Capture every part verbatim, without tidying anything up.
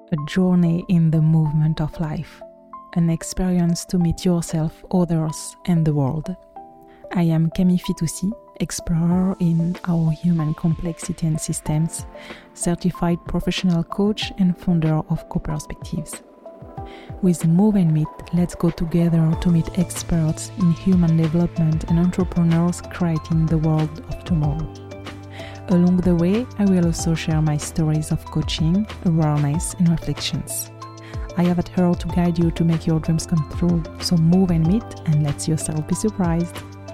a journey in the movement of life, an experience to meet yourself, others, and the world. I am Camille Fitoussi, explorer in our human complexity and systems, certified professional coach and founder of Co-Perspectives. With Move and Meet, let's go together to meet experts in human development and entrepreneurs creating the world of tomorrow. Along the way, I will also share my stories of coaching, awareness, and reflections. I have at heart to guide you to make your dreams come true. So move and meet and let yourself be surprised.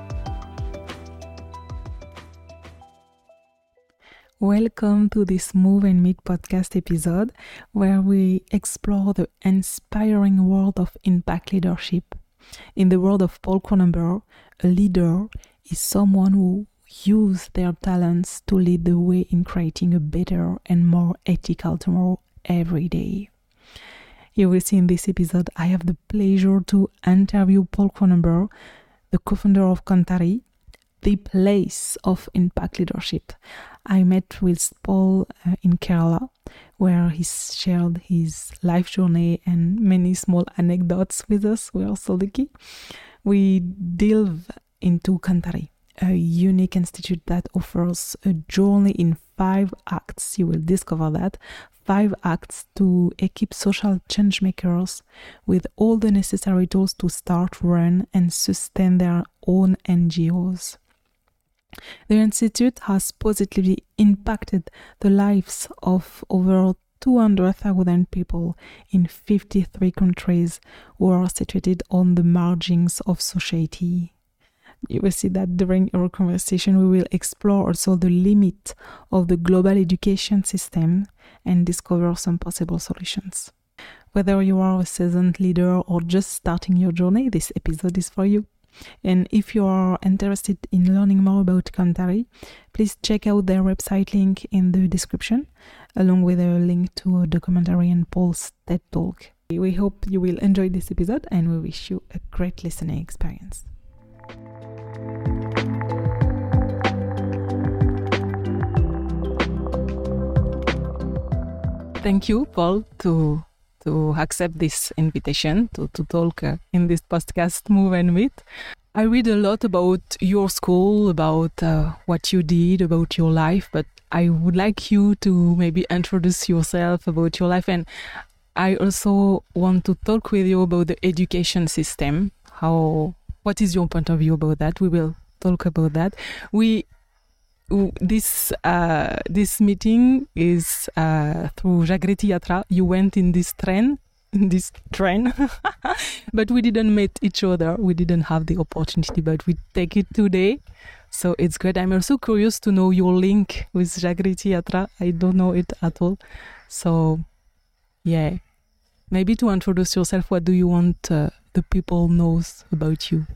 Welcome to this Move and Meet podcast episode where we explore the inspiring world of impact leadership. In the world of Paul Cronenberg, a leader is someone who uses their talents to lead the way in creating a better and more ethical tomorrow every day. You will see in this episode, I have the pleasure to interview Paul Cronenberg, the co-founder of Kantari, the place of impact leadership. I met with Paul uh, in Kerala, where he shared his life journey and many small anecdotes with us. We are so lucky. We delve into Kantari, a unique institute that offers a journey in five acts. You will discover that. Five acts to equip social change makers with all the necessary tools to start, run, and sustain their own N G Os. The Institute has positively impacted the lives of over two hundred thousand people in fifty-three countries who are situated on the margins of society. You will see that during our conversation we will explore also the limit of the global education system and discover some possible solutions. Whether you are a seasoned leader or just starting your journey, this episode is for you. And if you are interested in learning more about Kantari, please check out their website link in the description, along with a link to a documentary and Paul's TED Talk. We hope you will enjoy this episode and we wish you a great listening experience. Thank you, Paul, to to accept this invitation to, to talk uh, in this podcast, Move and Meet. I read a lot about your school, about uh, what you did, about your life, but I would like you to maybe introduce yourself about your life. And I also want to talk with you about the education system. How, what is your point of view about that? We will talk about that. We This uh, this meeting is uh, through Jagriti Yatra. You went in this train, in this train, but we didn't meet each other. We didn't have the opportunity, but we take it today. So it's great. I'm also curious to know your link with Jagriti Yatra. I don't know it at all. So, yeah, maybe to introduce yourself, what do you want uh, the people knows about you?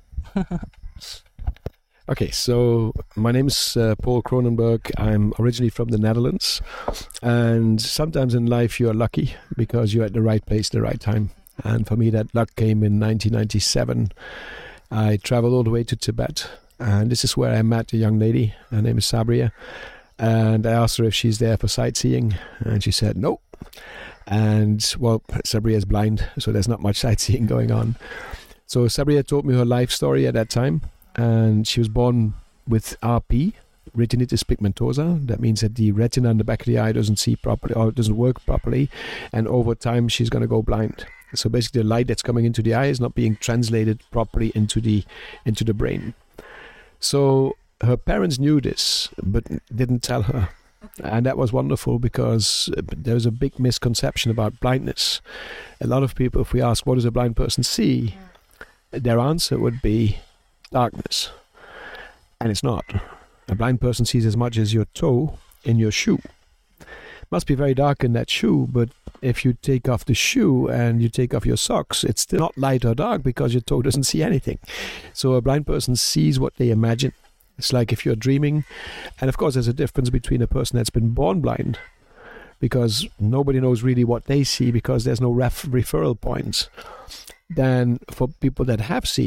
Okay, so my name is uh, Paul Cronenberg. I'm originally from the Netherlands, and sometimes in life you are lucky because you're at the right place at the right time. And for me, that luck came in nineteen ninety-seven. I traveled all the way to Tibet, and this is where I met a young lady. Her name is Sabria, and I asked her if she's there for sightseeing, and she said no. And well, Sabria is blind, so there's not much sightseeing going on. So Sabria told me her life story at that time. And she was born with R P, retinitis pigmentosa. That means that the retina in the back of the eye doesn't see properly or doesn't work properly. And over time, she's going to go blind. So basically, the light that's coming into the eye is not being translated properly into the into the brain. So her parents knew this, but didn't tell her. And that was wonderful because there's a big misconception about blindness. A lot of people, if we ask, what does a blind person see? Their answer would be darkness. And it's not. A blind person sees as much as your toe in your shoe. It must be very dark in that shoe, but if you take off the shoe and you take off your socks, it's still not light or dark because your toe doesn't see anything. So a blind person sees what they imagine. It's like if you're dreaming. And of course, there's a difference between a person that's been born blind, because nobody knows really what they see because there's no ref- referral points. Then for people that have seen,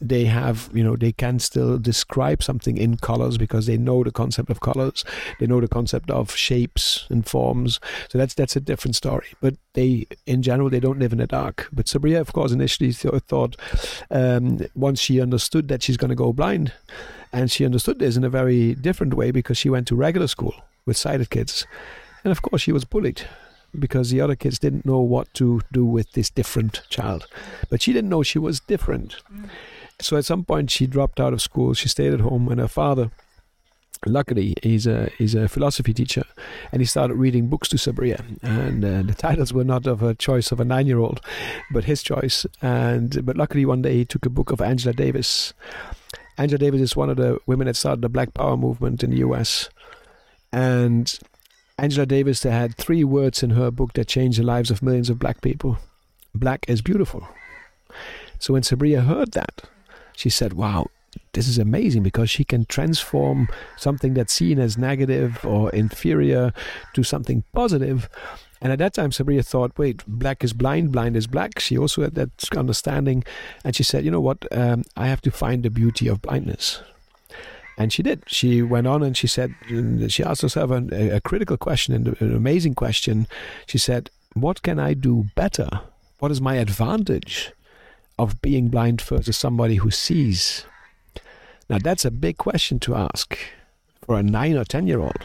they have, you know, they can still describe something in colors because they know the concept of colors. They know the concept of shapes and forms. So that's that's a different story. But they, in general, they don't live in the dark. But Sabriye, of course, initially th- thought um, once she understood that she's going to go blind, and she understood this in a very different way because she went to regular school with sighted kids. And of course, she was bullied because the other kids didn't know what to do with this different child. But she didn't know she was different. Mm. So at some point she dropped out of school. She stayed at home, and her father, luckily, he's a he's a philosophy teacher, and he started reading books to Sabriye. And uh, the titles were not of a choice of a nine-year-old, but his choice. And but luckily one day he took a book of Angela Davis. Angela Davis is one of the women that started the Black Power movement in the U S. And Angela Davis had three words in her book that changed the lives of millions of black people. Black is beautiful. So when Sabriye heard that, she said, wow, this is amazing, because she can transform something that's seen as negative or inferior to something positive. And at that time, Sabriye thought, wait, black is blind, blind is black. She also had that understanding. And she said, you know what, um, I have to find the beauty of blindness. And she did. She went on and she said, she asked herself a, a critical question, and an amazing question. She said, what can I do better? What is my advantage of being blind versus somebody who sees? Now, that's a big question to ask for a nine or ten-year-old.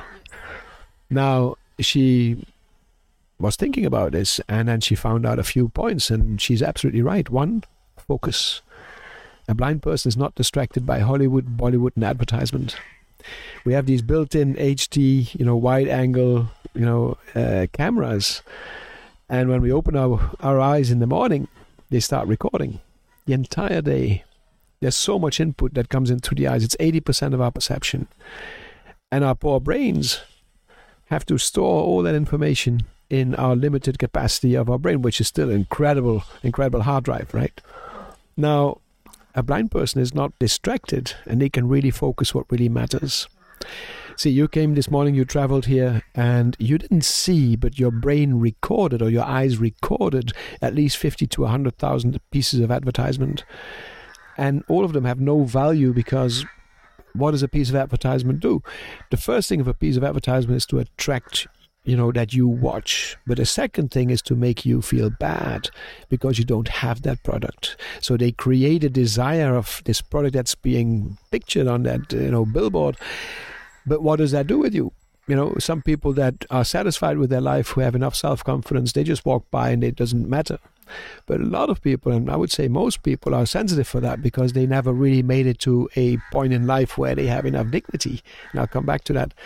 Now, she was thinking about this, and then she found out a few points, and she's absolutely right. One, focus. A blind person is not distracted by Hollywood, Bollywood, and advertisement. We have these built-in H D, you know, wide-angle, you know, uh, cameras, and when we open our, our eyes in the morning, they start recording the entire day. There's so much input that comes in through the eyes. It's eighty percent of our perception. And our poor brains have to store all that information in our limited capacity of our brain, which is still incredible, incredible hard drive, right? Now, a blind person is not distracted, and they can really focus what really matters. See, you came this morning, you traveled here, and you didn't see, but your brain recorded, or your eyes recorded, at least fifty to one hundred thousand pieces of advertisement. And all of them have no value, because what does a piece of advertisement do? The first thing of a piece of advertisement is to attract, you know, that you watch. But the second thing is to make you feel bad because you don't have that product. So they create a desire of this product that's being pictured on that, you know, billboard. But what does that do with you? You know, some people that are satisfied with their life, who have enough self-confidence, they just walk by and it doesn't matter. But a lot of people, and I would say most people, are sensitive for that because they never really made it to a point in life where they have enough dignity. And I'll come back to that.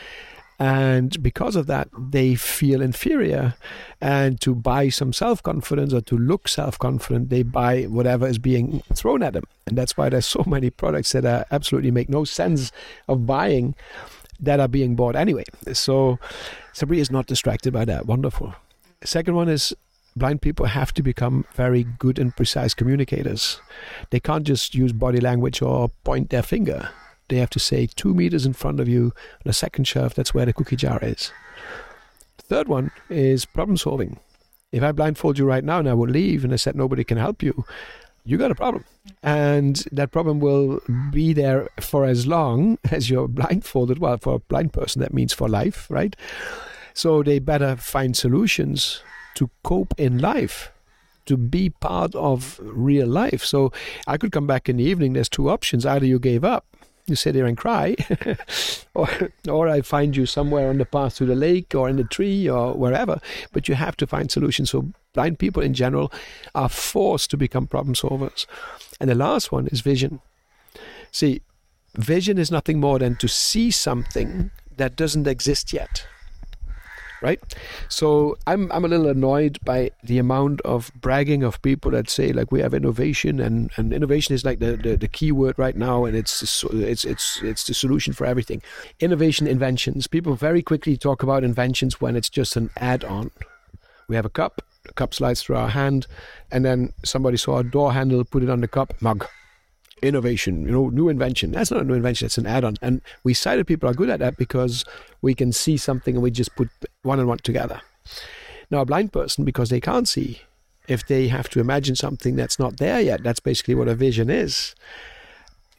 And because of that, they feel inferior. And to buy some self-confidence, or to look self-confident, they buy whatever is being thrown at them. And that's why there's so many products that are absolutely make no sense of buying that are being bought anyway. So Sabriye is not distracted by that. Wonderful. Second one is, blind people have to become very good and precise communicators. They can't just use body language or point their finger. They have to say two meters in front of you on a second shelf, that's where the cookie jar is. The third one is problem solving. If I blindfold you right now and I would leave and I said nobody can help you, you got a problem. And that problem will be there for as long as you're blindfolded. Well, for a blind person, that means for life, right? So they better find solutions to cope in life, to be part of real life. So I could come back in the evening, there's two options. Either you gave up, you sit there and cry, or or I find you somewhere on the path to the lake or in the tree or wherever, but you have to find solutions. So blind people in general are forced to become problem solvers. And the last one is vision. See, vision is nothing more than to see something that doesn't exist yet. Right? So I'm I'm a little annoyed by the amount of bragging of people that say, like, we have innovation, and, and innovation is like the, the, the key word right now, and it's it's it's it's the solution for everything. Innovation, inventions. People very quickly talk about inventions when it's just an add-on. We have a cup, the cup slides through our hand, and then somebody saw a door handle, put it on the cup, mug. Innovation, you know, new invention. That's not a new invention, it's an add-on. And we sighted people are good at that because we can see something and we just put one and one together. Now, a blind person, because they can't see, if they have to imagine something that's not there yet, that's basically what a vision is.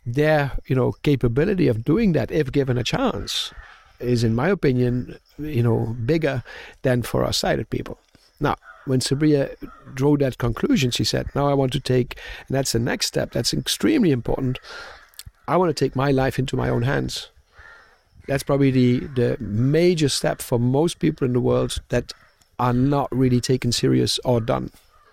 their, you know, capability of doing that, if given a chance, is, in my opinion, you know, bigger than for our sighted people. Now, when Sabriye drew that conclusion, she said, now I want to take, and that's the next step, that's extremely important, I want to take my life into my own hands. That's probably the, the major step for most people in the world that are not really taken serious or done.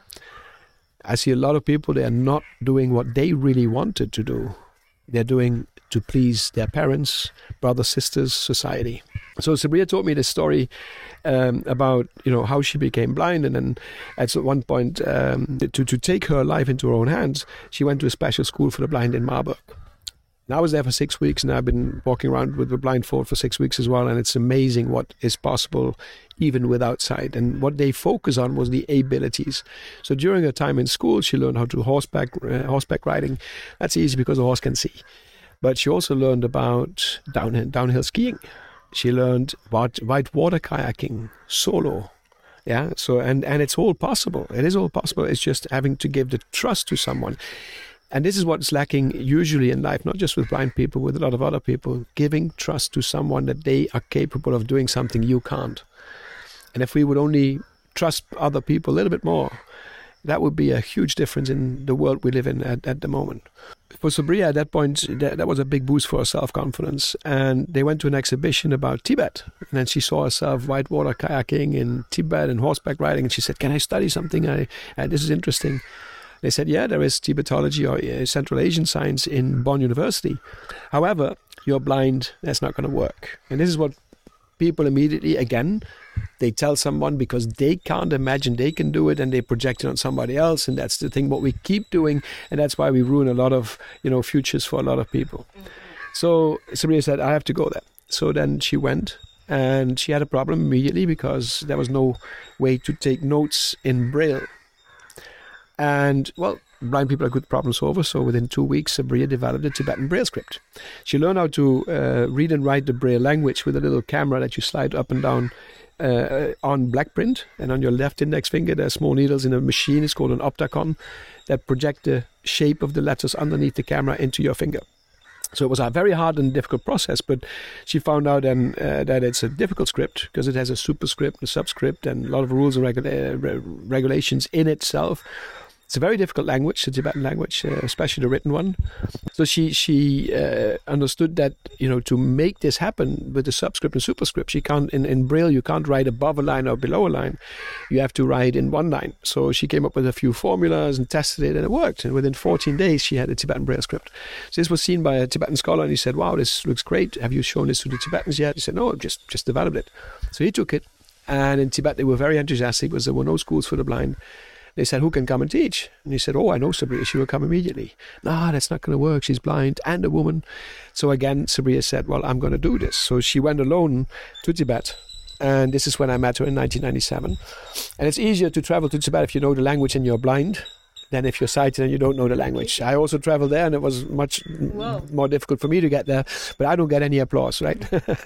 I see a lot of people, they are not doing what they really wanted to do. They're doing to please their parents, brothers, sisters, society. So Sabriye told me this story um, about, you know, how she became blind, and then at one point um, to, to take her life into her own hands, she went to a special school for the blind in Marburg. And I was there for six weeks, and I've been walking around with a blindfold for six weeks as well, and it's amazing what is possible even without sight. And what they focus on was the abilities. So during her time in school, she learned how to horseback uh, horseback riding. That's easy because the horse can see. But she also learned about downhill, downhill skiing. She learned about whitewater kayaking, solo. Yeah, so and, and it's all possible. It is all possible. It's just having to give the trust to someone. And this is what's lacking usually in life, not just with blind people, with a lot of other people, giving trust to someone that they are capable of doing something you can't. And if we would only trust other people a little bit more, that would be a huge difference in the world we live in at, at the moment. For Sabriye, at that point, that, that was a big boost for her self-confidence. And they went to an exhibition about Tibet. And then she saw herself whitewater kayaking in Tibet and horseback riding. And she said, can I study something? I, uh, this is interesting. They said, yeah, there is Tibetology or uh, Central Asian science in Bonn University. However, you're blind, that's not going to work. And this is what people immediately, again, they tell someone because they can't imagine they can do it, and they project it on somebody else. And that's the thing, what we keep doing. And that's why we ruin a lot of, you know, futures for a lot of people. Mm-hmm. So Sabriye said, I have to go there. So then she went, and she had a problem immediately because there was no way to take notes in Braille. And, well, blind people are good problem solvers, so within two weeks, Sabriye developed a Tibetan Braille script. She learned how to uh, read and write the Braille language with a little camera that you slide up and down uh, on black print. And on your left index finger, there are small needles in a machine, it's called an optacon, that project the shape of the letters underneath the camera into your finger. So it was a very hard and difficult process, but she found out then uh, that it's a difficult script because it has a superscript, a subscript, and a lot of rules and regula- uh, regulations in itself. It's a very difficult language, the Tibetan language, uh, especially the written one. So she she uh, understood that, you know, to make this happen with the subscript and superscript, she can't in, in Braille you can't write above a line or below a line. You have to write in one line. So she came up with a few formulas and tested it, and it worked. And within fourteen days, she had a Tibetan Braille script. So this was seen by a Tibetan scholar, and he said, "Wow, this looks great. Have you shown this to the Tibetans yet?" He said, "No, I've just just developed it." So he took it, and in Tibet they were very enthusiastic because there were no schools for the blind. They said, who can come and teach? And he said, oh, I know Sabriye, she will come immediately. No, that's not going to work. She's blind and a woman. So again, Sabriye said, well, I'm going to do this. So she went alone to Tibet. And this is when I met her in nineteen ninety-seven. And it's easier to travel to Tibet if you know the language and you're blind than if you're sighted and you don't know the language. I also traveled there, and it was much Whoa. more difficult for me to get there. But I don't get any applause, right?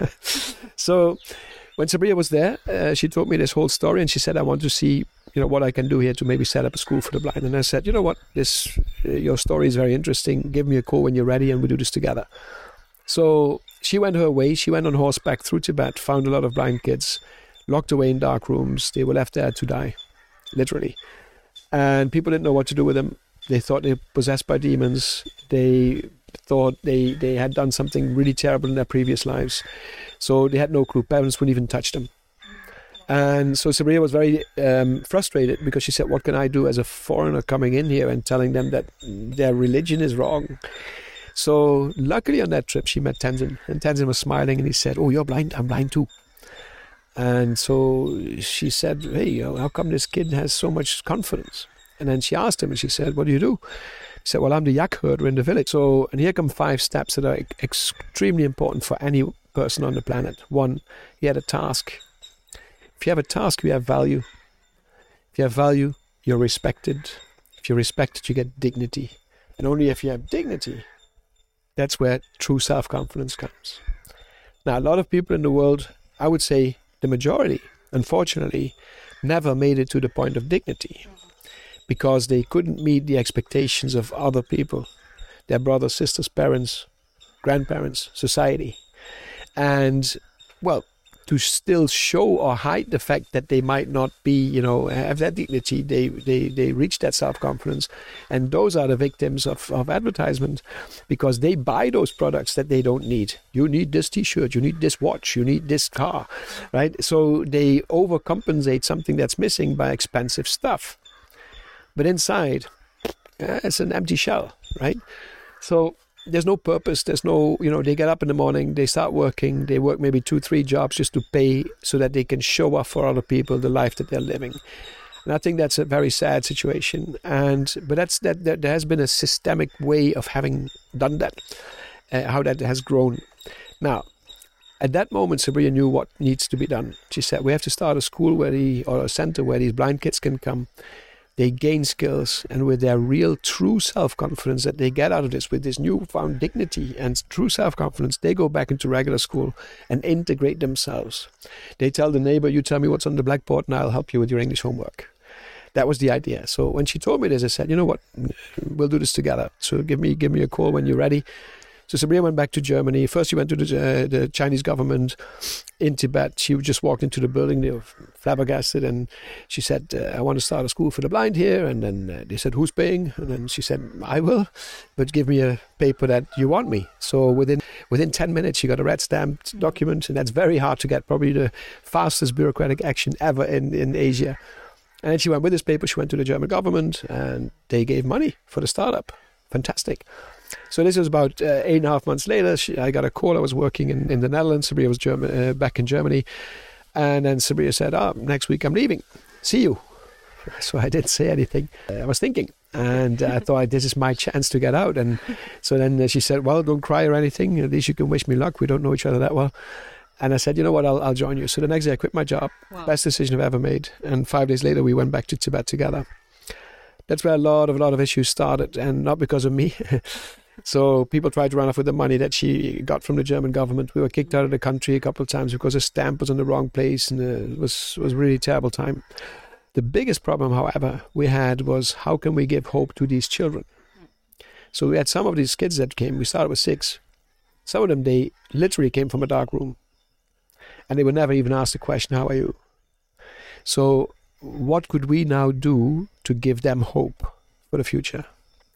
So when Sabriye was there, uh, she told me this whole story, and she said, I want to see, you know, what I can do here to maybe set up a school for the blind. And I said, you know what, this uh, your story is very interesting. Give me a call when you're ready, and we do this together. So she went her way. She went on horseback through Tibet, found a lot of blind kids, locked away in dark rooms. They were left there to die, literally. And people didn't know what to do with them. They thought they were possessed by demons. They thought they, they had done something really terrible in their previous lives. So they had no clue. Parents wouldn't even touch them. And so Sabriye was very um, frustrated because she said, what can I do as a foreigner coming in here and telling them that their religion is wrong? So luckily on that trip, she met Tenzin. And Tenzin was smiling, and he said, oh, you're blind? I'm blind too. And so she said, hey, how come this kid has so much confidence? And then she asked him, and she said, what do you do? He said, well, I'm the yak herder in the village. So, and here come five steps that are extremely important for any person on the planet. One, he had a task. If you have a task, you have value. If you have value, you're respected. If you're respected, you get dignity. And only if you have dignity, that's where true self-confidence comes. Now, a lot of people in the world, I would say the majority, unfortunately, never made it to the point of dignity because they couldn't meet the expectations of other people. their brothers, sisters, parents, grandparents, society. And, well, to still show or hide the fact that they might not be, you know, have that dignity, they they, they reach that self-confidence. And those are the victims of, of advertisement, because they buy those products that they don't need. You need this T-shirt, you need this watch, you need this car, right? So they overcompensate something that's missing by expensive stuff. But inside, uh, it's an empty shell, right? So there's no purpose. There's no, you know, they get up in the morning, they start working, they work maybe two, three jobs just to pay so that they can show off for other people the life that they're living. And I think that's a very sad situation. And but that's that, that there has been a systemic way of having done that, uh, how that has grown. Now, at that moment, Sabria knew what needs to be done. She said, we have to start a school where the, or a center where these blind kids can come. They gain skills, and with their real, true self-confidence that they get out of this, with this newfound dignity and true self-confidence, they go back into regular school and integrate themselves. They tell the neighbor, you tell me what's on the blackboard and I'll help you with your English homework. That was the idea. So when she told me this, I said, you know what, we'll do this together. So give me give me a call when you're ready. So Sabria went back to Germany. First she went to the, uh, the Chinese government in Tibet. She just walked into the building, they were flabbergasted, and she said, uh, I want to start a school for the blind here. And then uh, they said, who's paying? And then she said, I will, but give me a paper that you want me. So within within ten minutes, she got a red stamped document, and that's very hard to get, probably the fastest bureaucratic action ever in, in Asia. And then she went with this paper, she went to the German government, and they gave money for the startup. Fantastic. So this was about uh, eight and a half months later. She, I got a call. I was working in, in the Netherlands. Sabria was German, uh, back in Germany. And then Sabria said, oh, next week I'm leaving. See you. So I didn't say anything. Uh, I was thinking. And uh, I thought, this is my chance to get out. And so then uh, she said, well, don't cry or anything. At least you can wish me luck. We don't know each other that well. And I said, you know what, I'll, I'll join you. So the next day I quit my job. Wow. Best decision I've ever made. And five days later, we went back to Tibet together. That's where a lot of a lot of issues started, and not because of me. So people tried to run off with the money that she got from the German government. We were kicked out of the country a couple of times because a stamp was in the wrong place, and uh, it was was really a terrible time. The biggest problem, however, we had was, how can we give hope to these children? So we had some of these kids that came. We started with six. Some of them, they literally came from a dark room, and they would never even ask the question, how are you? So what could we now do to give them hope for the future?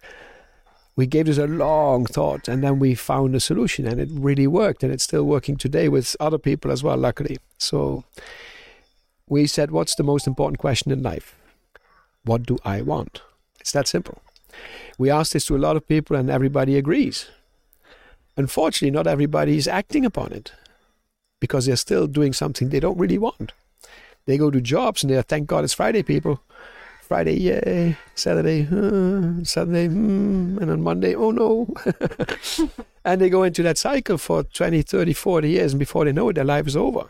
We gave this a long thought, and then we found a solution, and it really worked, and it's still working today with other people as well, luckily. So we said, what's the most important question in life? What do I want? It's that simple. We asked this to a lot of people, and everybody agrees. Unfortunately, not everybody is acting upon it, because they're still doing something they don't really want. They go to jobs and they're, thank God it's Friday, people. Friday, yay. Saturday, uh, Saturday, hmm. And on Monday, oh no. And they go into that cycle for twenty, thirty, forty years, and before they know it, their life is over.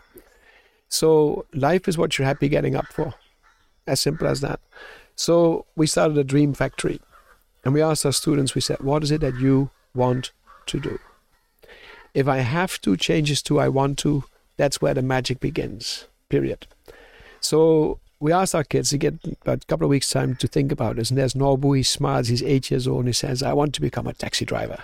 So life is what you're happy getting up for. As simple as that. So we started a dream factory. And we asked our students, we said, what is it that you want to do? If I have to change this to I want to, that's where the magic begins. Period. So we asked our kids to get about a couple of weeks' time to think about this. And there's Norbu, he smiles, he's eight years old, and he says, I want to become a taxi driver.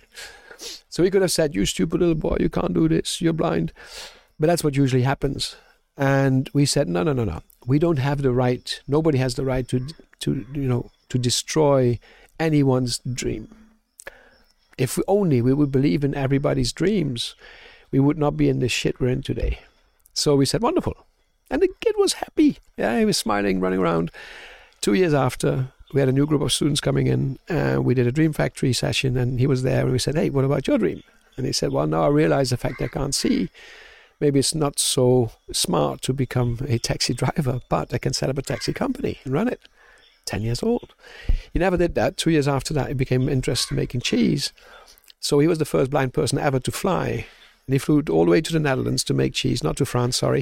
So we could have said, you stupid little boy, you can't do this, you're blind. But that's what usually happens. And we said, no, no, no, no. We don't have the right, nobody has the right to, to you know, to destroy anyone's dream. If we only we would believe in everybody's dreams, we would not be in the shit we're in today. So we said, wonderful. And the kid was happy. Yeah, he was smiling, running around. Two years after, we had a new group of students coming in, and we did a Dream Factory session, and he was there, and we said, hey, what about your dream? And he said, well, now I realize the fact I can't see. Maybe it's not so smart to become a taxi driver, but I can set up a taxi company and run it. Ten years old. He never did that. Two years after that, he became interested in making cheese. So he was the first blind person ever to fly. And he flew all the way to the Netherlands to make cheese, not to France, sorry.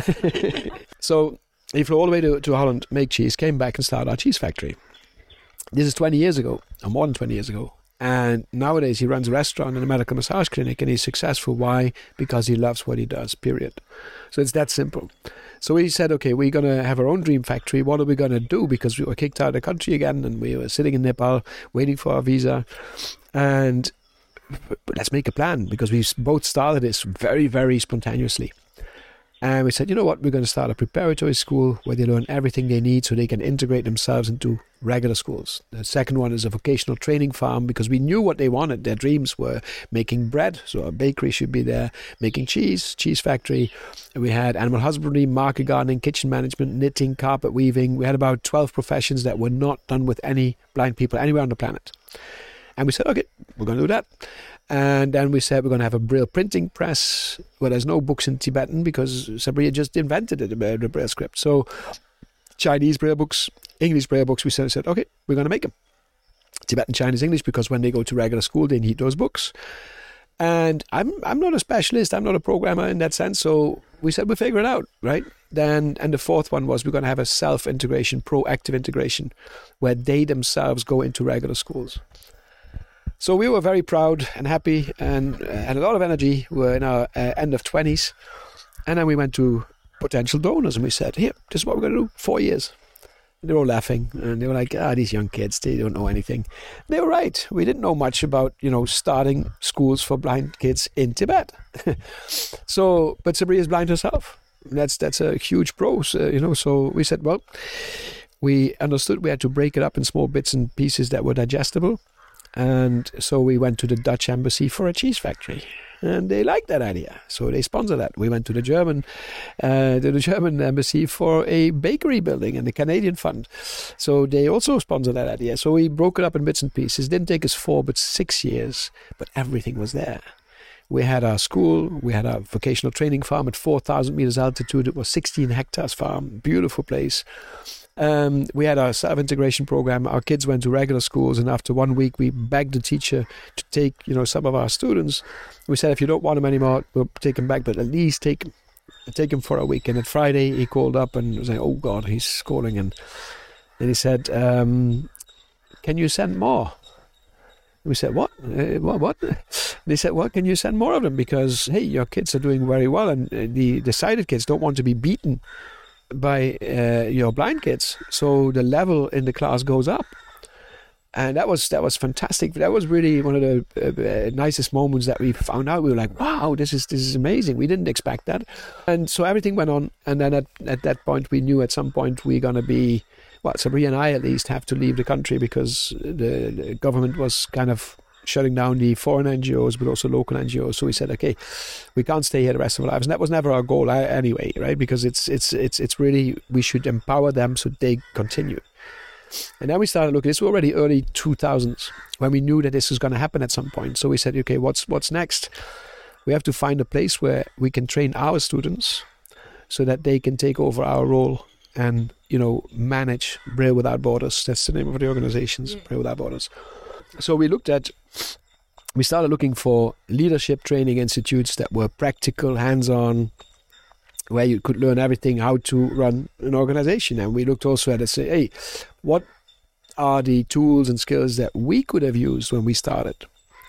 So he flew all the way to, to Holland, make cheese, came back and started our cheese factory. This is twenty years ago, or more than twenty years ago. And nowadays he runs a restaurant and a medical massage clinic, and he's successful. Why? Because he loves what he does, period. So it's that simple. So we said, okay, we're going to have our own dream factory. What are we going to do? Because we were kicked out of the country again, and we were sitting in Nepal waiting for our visa. And but let's make a plan, because we both started this very, very spontaneously. And we said, you know what, we're going to start a preparatory school where they learn everything they need so they can integrate themselves into regular schools. The second one is a vocational training farm, because we knew what they wanted. Their dreams were making bread, so a bakery should be there, making cheese, cheese factory. And we had animal husbandry, market gardening, kitchen management, knitting, carpet weaving. We had about twelve professions that were not done with any blind people anywhere on the planet. And we said, okay, we're going to do that. And then we said we're going to have a Braille printing press where there's no books in Tibetan, because Sabriya just invented it, the Braille script. So Chinese Braille books, English Braille books, we said, said okay, we're going to make them. Tibetan, Chinese, English, because when they go to regular school, they need those books. And I'm I'm not a specialist, I'm not a programmer in that sense, so we said we'll figure it out, right? Then, and the fourth one was we're going to have a self-integration, proactive integration, where they themselves go into regular schools. So we were very proud and happy and uh, had a lot of energy. We were in our uh, end of twenties. And then we went to potential donors and we said, here, this is what we're going to do, four years. And they were all laughing and they were like, ah, these young kids, they don't know anything. They were right. We didn't know much about, you know, starting schools for blind kids in Tibet. So, but Sabriya is blind herself. That's, that's a huge pro, uh, you know. So we said, well, we understood we had to break it up in small bits and pieces that were digestible. And so we went to the Dutch embassy for a cheese factory, and they liked that idea. So they sponsored that. We went to the German, uh, to the German embassy for a bakery building and the Canadian fund. So they also sponsored that idea. So we broke it up in bits and pieces. It didn't take us four, but six years, but everything was there. We had our school, we had our vocational training farm at four thousand meters altitude. It was sixteen hectares farm, beautiful place. Um, we had our self-integration program. Our kids went to regular schools, and after one week, we begged the teacher to take, you know, some of our students. We said, if you don't want them anymore, we'll take them back, but at least take take him for a week. And at Friday, he called up and was like, oh God, he's schooling. And then he said, um, can you send more? We said, what? Uh, what? What? They said, well, can you send more of them? Because, hey, your kids are doing very well, and the, the sighted kids don't want to be beaten by uh, your blind kids. So the level in the class goes up. And that was that was fantastic. That was really one of the uh, uh, nicest moments that we found out. We were like, wow, this is this is amazing. We didn't expect that. And so everything went on. And then at, at that point, we knew at some point we're going to be, well, Sabriya and I at least have to leave the country, because the, the government was kind of shutting down the foreign N G Os, but also local N G Os. So we said, okay, we can't stay here the rest of our lives. And that was never our goal anyway, right? Because it's it's it's it's really, we should empower them so they continue. And then we started looking, this was already early two thousands, when we knew that this was going to happen at some point. So we said, okay, what's what's next? We have to find a place where we can train our students so that they can take over our role and, you know, manage Braille Without Borders. That's the name of the organizations, yeah. Braille Without Borders. So we looked at, we started looking for leadership training institutes that were practical, hands-on, where you could learn everything, how to run an organization. And we looked also at it, say, hey, what are the tools and skills that we could have used when we started?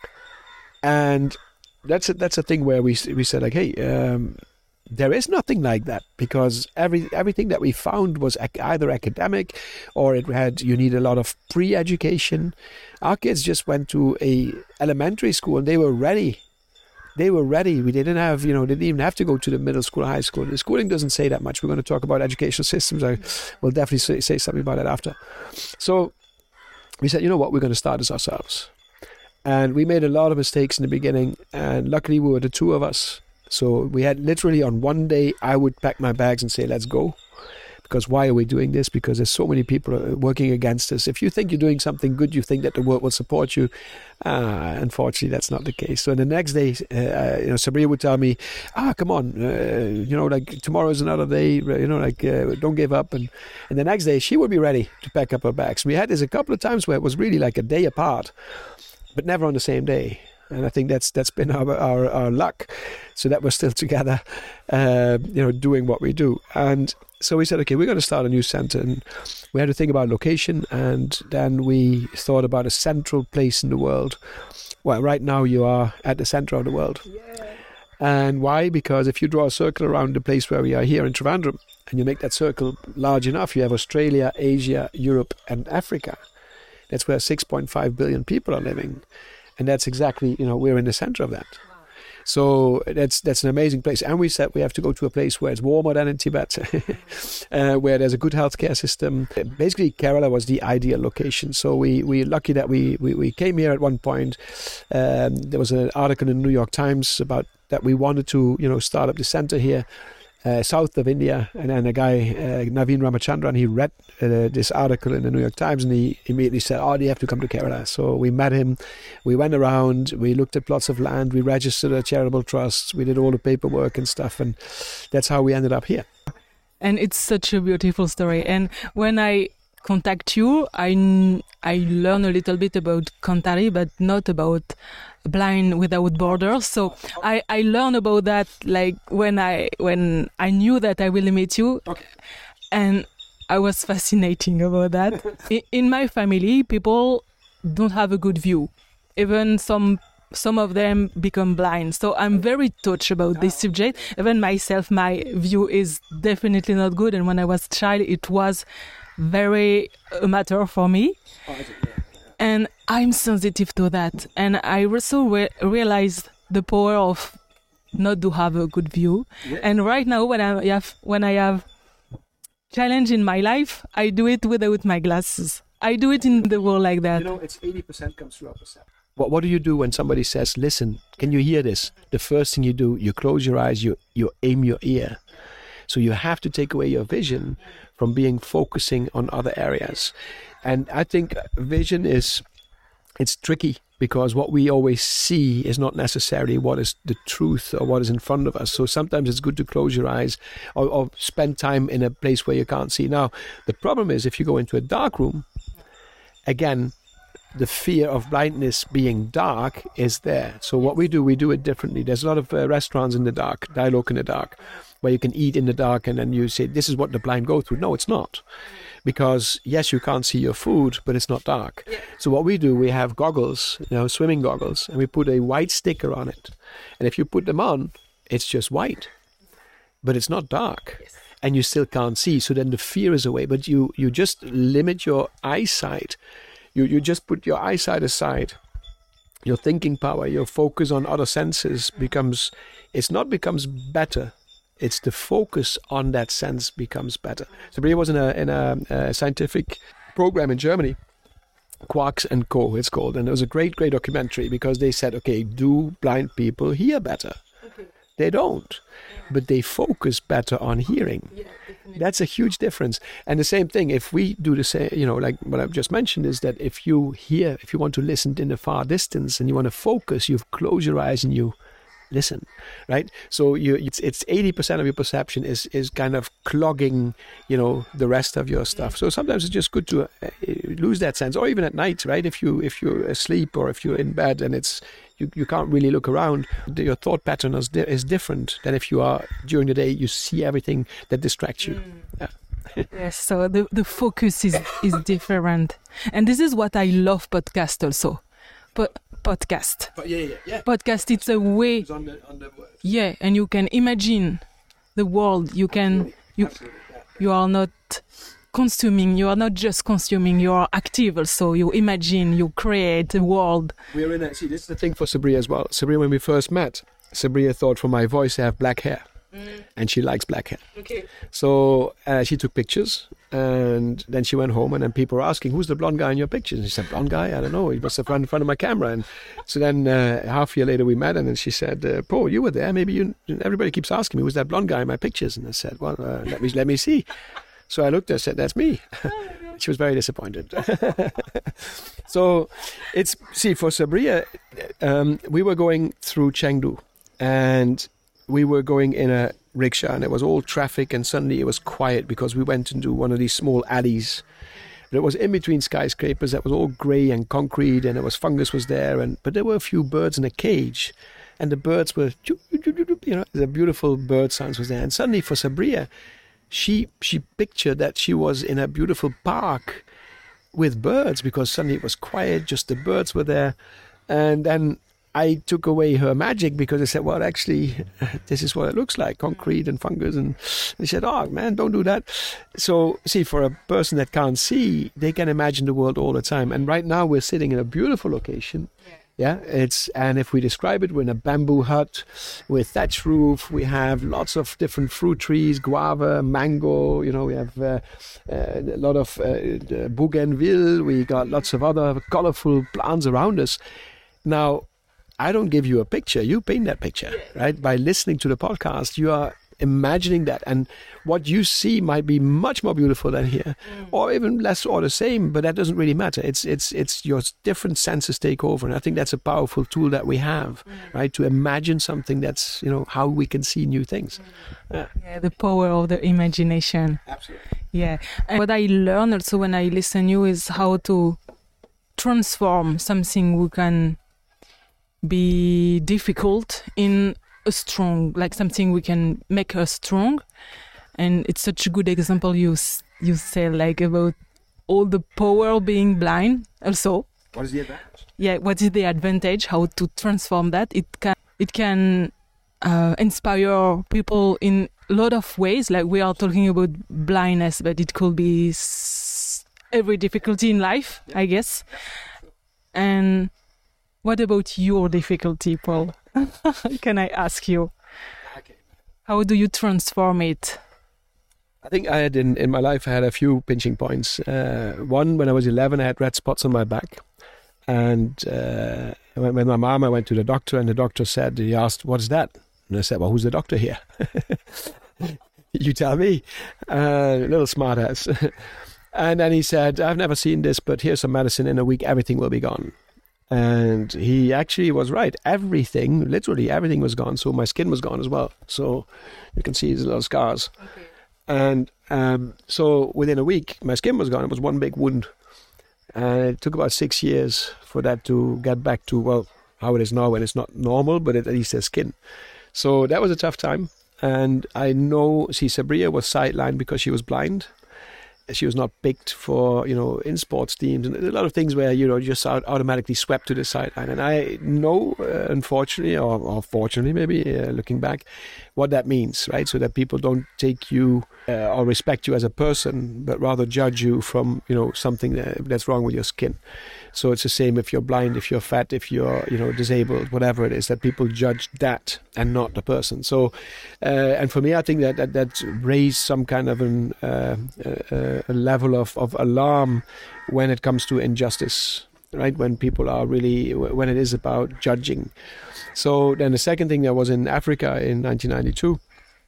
And that's a, that's a thing where we we said, like, hey, um, there is nothing like that, because every everything that we found was ac- either academic, or it had, you need a lot of pre-education. Our kids just went to a elementary school and they were ready. They were ready. We didn't have, you know, they didn't even have to go to the middle school, high school. The schooling doesn't say that much. We're going to talk about educational systems. I will definitely say, say something about that after. So we said, you know what, we're going to start this ourselves. And we made a lot of mistakes in the beginning. And luckily we were the two of us. So we had literally on one day, I would pack my bags and say, let's go. Because why are we doing this? Because there's so many people working against us. If you think you're doing something good, you think that the world will support you. Uh, unfortunately, that's not the case. So the next day, uh, you know, Sabriya would tell me, ah, come on, uh, you know, like tomorrow is another day, you know, like uh, don't give up. And, and the next day, she would be ready to pack up her bags. We had this a couple of times where it was really like a day apart, but never on the same day. And I think that's that's been our our, our luck, so that we're still together, uh, you know, doing what we do. And so we said, okay, we're going to start a new center, and we had to think about location, and then we thought about a central place in the world. Well, right now you are at the center of the world. Yeah. And why? Because if you draw a circle around the place where we are here in Trivandrum, and you make that circle large enough, you have Australia, Asia, Europe, and Africa. That's where six point five billion people are living. And that's exactly, you know, we're in the center of that. So that's that's an amazing place. And we said we have to go to a place where it's warmer than in Tibet, uh, where there's a good healthcare system. Basically, Kerala was the ideal location. So we, we're lucky that we, we, we came here at one point. Um, there was an article in the New York Times about that we wanted to, you know, start up the center here. Uh, south of India, and then a guy, uh, Naveen Ramachandran, he read uh, this article in the New York Times, and he immediately said, oh, you have to come to Kerala. So we met him, we went around, we looked at plots of land, we registered a charitable trust, we did all the paperwork and stuff, and that's how we ended up here. And it's such a beautiful story. And when I contact you, I, I learn a little bit about Kantari, but not about Blind Without Borders. So I, I learned about that like when I when I knew that I will meet you, okay. And I was fascinating about that. in, in my family, people don't have a good view. Even some some of them become blind. So I'm very touched about this subject. Even myself, my view is definitely not good. And when I was a child, it was very a matter for me. And I'm sensitive to that. And I also re- realized the power of not to have a good view. Yeah. And right now, when I have when I have challenge in my life, I do it without my glasses. I do it in the world like that. You know, it's eighty percent comes through our perception. What What do you do when somebody says, listen, can you hear this? The first thing you do, you close your eyes, you, you aim your ear. So you have to take away your vision from being focusing on other areas. And I think vision is, it's tricky because what we always see is not necessarily what is the truth or what is in front of us. So sometimes it's good to close your eyes or, or spend time in a place where you can't see. Now, the problem is if you go into a dark room, again, the fear of blindness being dark is there. So what we do, we do it differently. There's a lot of uh, restaurants in the dark, dialogue in the dark, where you can eat in the dark and then you say, this is what the blind go through. No, it's not. Because, yes, you can't see your food, but it's not dark. Yeah. So what we do, we have goggles, you know, swimming goggles, and we put a white sticker on it. And if you put them on, it's just white. But it's not dark. Yes. And you still can't see. So then the fear is away. But you, you just limit your eyesight. You, you just put your eyesight aside. Your thinking power, your focus on other senses becomes, it's not becomes better. It's the focus on that sense becomes better. Sabrina was in a in a, a scientific program in Germany, Quarks and Co. It's called, and it was a great, great documentary because they said, okay, do blind people hear better? Okay. They don't, but they focus better on hearing. Yeah, that's a huge difference. And the same thing, if we do the same, you know, like what I've just mentioned, is that if you hear, if you want to listen in the far distance and you want to focus, you close your eyes and you listen, right? So you, it's it's eighty percent of your perception is is kind of clogging, you know, the rest of your stuff. So sometimes it's just good to uh, lose that sense, or even at night, right? If you if you're asleep or if you're in bed and it's you, you can't really look around, your thought pattern is di- is different than if you are during the day. You see everything that distracts you. Mm. Yeah. Yes, so the the focus is is different, and this is what I love podcast also. But podcast. But yeah, yeah, yeah. Podcast, it's a way. It's on the, on the yeah, and you can imagine the world. You can Absolutely. you Absolutely. Yeah. You are not consuming. You are not just consuming. You are active also. You imagine. You create a world. We're in a, see, this is the thing for Sabrina as well. Sabrina, when we first met, Sabrina thought for my voice I have black hair. Mm. And she likes black hair. Okay. So uh, she took pictures and then she went home and then people were asking, who's the blonde guy in your pictures? And she said, blonde guy? I don't know. He must have run in front of my camera. And so then uh, half a year later we met and then she said, uh, Paul, you were there. Maybe you, everybody keeps asking me, who's that blonde guy in my pictures? And I said, well, uh, let me let me see. So I looked and said, that's me. She was very disappointed. So it's, see, for Sabrina, um, we were going through Chengdu and we were going in a rickshaw and it was all traffic and suddenly it was quiet because we went into one of these small alleys. But it was in between skyscrapers that was all grey and concrete and there was fungus was there. and But there were a few birds in a cage and the birds were, you know, the beautiful bird sounds was there. And suddenly for Sabrina, she, she pictured that she was in a beautiful park with birds because suddenly it was quiet, just the birds were there. And then I took away her magic because I said, well, actually, this is what it looks like, concrete and fungus. And they said, oh, man, don't do that. So, see, for a person that can't see, they can imagine the world all the time. And right now we're sitting in a beautiful location Yeah, it's and if we describe it, we're in a bamboo hut with thatch roof. We have lots of different fruit trees, guava, mango. You know, we have uh, uh, a lot of uh, bougainville. We got lots of other colorful plants around us. Now, I don't give you a picture. You paint that picture, right? By listening to the podcast, you are imagining that, and what you see might be much more beautiful than here, mm. or even less or the same, but that doesn't really matter. It's it's it's your different senses take over, and I think that's a powerful tool that we have, mm. right, to imagine something. That's, you know, how we can see new things. Mm. Yeah. yeah, the power of the imagination. Absolutely. Yeah, and what I learned also when I listen to you is how to transform something who can be difficult in a strong, like something we can make us strong. And it's such a good example you you say, like, about all the power being blind also. What is the advantage? Yeah, what is the advantage? How to transform that? It can it can uh, inspire people in a lot of ways. Like, we are talking about blindness, but it could be s- every difficulty in life, I guess. And what about your difficulty, Paul? Can I ask you? Okay. How do you transform it? I think I had in, in my life, I had a few pinching points. Uh, one, when I was eleven, I had red spots on my back. And uh, when, when my mom, I went to the doctor, and the doctor said, he asked, what's that? And I said, well, who's the doctor here? You tell me. Uh, little smart ass. And then he said, I've never seen this, but here's some medicine. In a week, everything will be gone. And he actually was right. Everything, literally everything was gone. So my skin was gone as well. So you can see these little scars. Okay. And um, so within a week, my skin was gone. It was one big wound. And it took about six years for that to get back to, well, how it is now, when it's not normal, but at least there's skin. So that was a tough time. And I know, see, Sabria was sidelined because she was blind. She was not picked for, you know, in sports teams, and a lot of things where, you know, just automatically swept to the sideline. And I know, uh, unfortunately, or, or fortunately maybe, uh, looking back, what that means, right? So that people don't take you uh, or respect you as a person, but rather judge you from, you know, something that, that's wrong with your skin. So it's the same if you're blind, if you're fat, if you're, you know, disabled, whatever it is, that people judge that and not the person. So, uh, and for me, I think that that, that raised some kind of an, uh, uh, a level of, of alarm when it comes to injustice, right? When people are really, when it is about judging. So then the second thing, I was in Africa in nineteen ninety-two.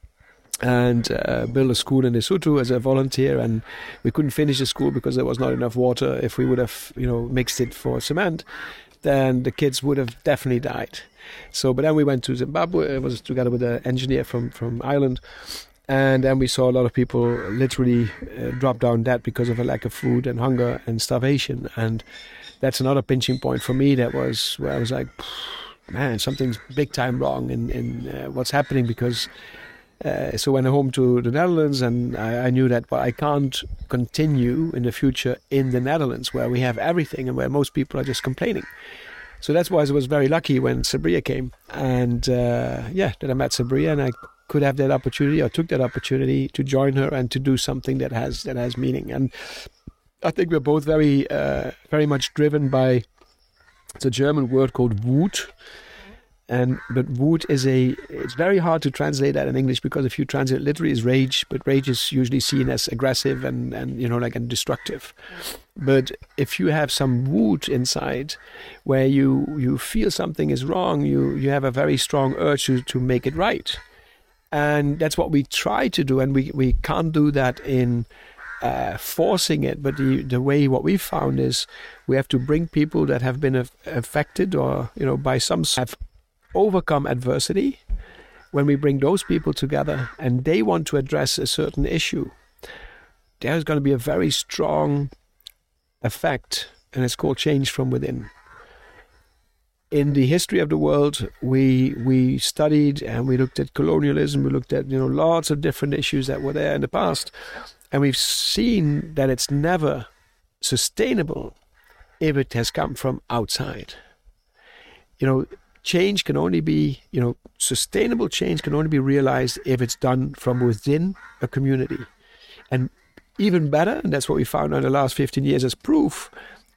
And uh, built a school in Lesotho as a volunteer, and we couldn't finish the school because there was not enough water. If we would have, you know, mixed it for cement, then the kids would have definitely died. So, but then we went to Zimbabwe. It was together with an engineer from from Ireland, and then we saw a lot of people literally uh, drop down dead because of a lack of food and hunger and starvation. And that's another pinching point for me. That was where I was like, man, something's big time wrong in in uh, what's happening, because. Uh, so went home to the Netherlands, and I, I knew that, well, I can't continue in the future in the Netherlands where we have everything and where most people are just complaining. So that's why I was very lucky when Sabria came, and uh, yeah, that I met Sabria, and I could have that opportunity, or took that opportunity to join her and to do something that has that has meaning. And I think we're both very uh, very much driven by, it's a German word called Wut. And but Wut is a, it's very hard to translate that in English, because if you translate it literally is rage, but rage is usually seen as aggressive and, and you know, like, and destructive. But if you have some Wut inside, where you, you feel something is wrong, you, you have a very strong urge to, to make it right. And that's what we try to do, and we, we can't do that in uh, forcing it. But the, the way, what we found is we have to bring people that have been af- affected or, you know, by some have overcome adversity. When we bring those people together and they want to address a certain issue, there's going to be a very strong effect, and it's called change from within. In the history of the world, we we studied and we looked at colonialism, we looked at, you know, lots of different issues that were there in the past, and we've seen that it's never sustainable if it has come from outside. You know, change can only be, you know, sustainable change can only be realized if it's done from within a community. And even better, and that's what we found in the last fifteen years as proof,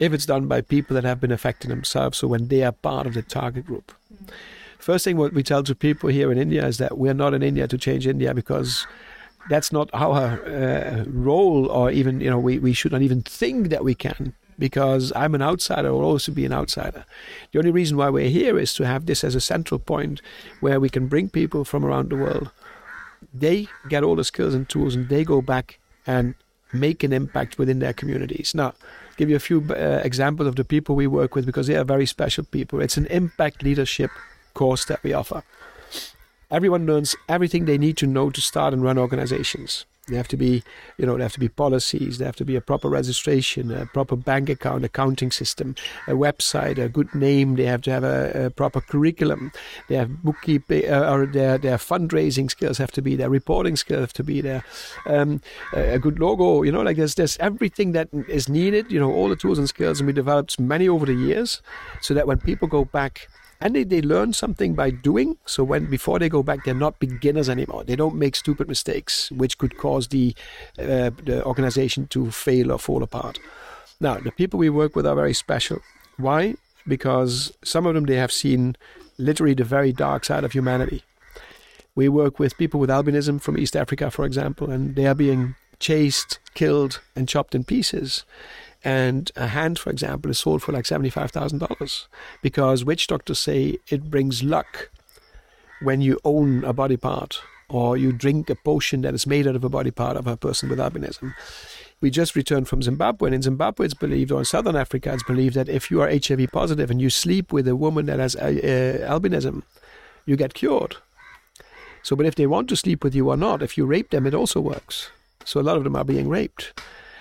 if it's done by people that have been affected themselves, so when they are part of the target group. Mm. First thing what we tell to people here in India is that we're not in India to change India, because that's not our uh, role, or even, you know, we, we should not even think that we can, because I'm an outsider, or also be an outsider. The only reason why we're here is to have this as a central point where we can bring people from around the world. They get all the skills and tools, and they go back and make an impact within their communities. Now, I'll give you a few uh, examples of the people we work with, because they are very special people. It's an impact leadership course that we offer. Everyone learns everything they need to know to start and run organizations. They have to be, you know, there have to be policies, there have to be a proper registration, a proper bank account, accounting system, a website, a good name. They have to have a, a proper curriculum. They have bookkeeping, uh, or their their fundraising skills have to be there, reporting skills have to be there, um, a, a good logo. You know, like there's there's everything that is needed. You know, all the tools and skills, and we developed many over the years, so that when people go back. And they, they learn something by doing. So when before they go back, they're not beginners anymore. They don't make stupid mistakes, which could cause the uh, the organization to fail or fall apart. Now, the people we work with are very special. Why? Because some of them, they have seen literally the very dark side of humanity. We work with people with albinism from East Africa, for example, and they are being chased, killed, and chopped in pieces. And a hand, for example, is sold for like seventy-five thousand dollars, because witch doctors say it brings luck when you own a body part, or you drink a potion that is made out of a body part of a person with albinism. We just returned from Zimbabwe, and in Zimbabwe it's believed, or in Southern Africa it's believed, that if you are H I V positive and you sleep with a woman that has uh, uh, albinism, you get cured. So, but if they want to sleep with you or not, if you rape them, it also works. So a lot of them are being raped.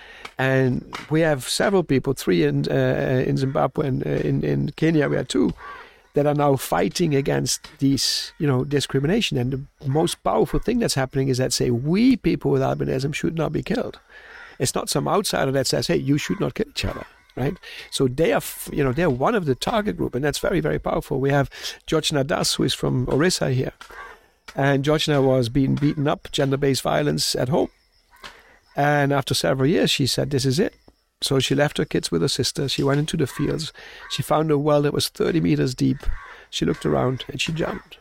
And we have several people, three in uh, in Zimbabwe and uh, in, in Kenya, we have two, that are now fighting against these, you know, discrimination. And the most powerful thing that's happening is that say we people with albinism should not be killed. It's not some outsider that says, hey, you should not kill each other, right? So they are, you know, they're one of the target group, and that's very, very powerful. We have Georgina Das, who is from Orissa here. And Georgina was being beaten up, gender-based violence at home. And after several years, she said, this is it. So she left her kids with her sister. She went into the fields. She found a well that was thirty meters deep. She looked around and she jumped.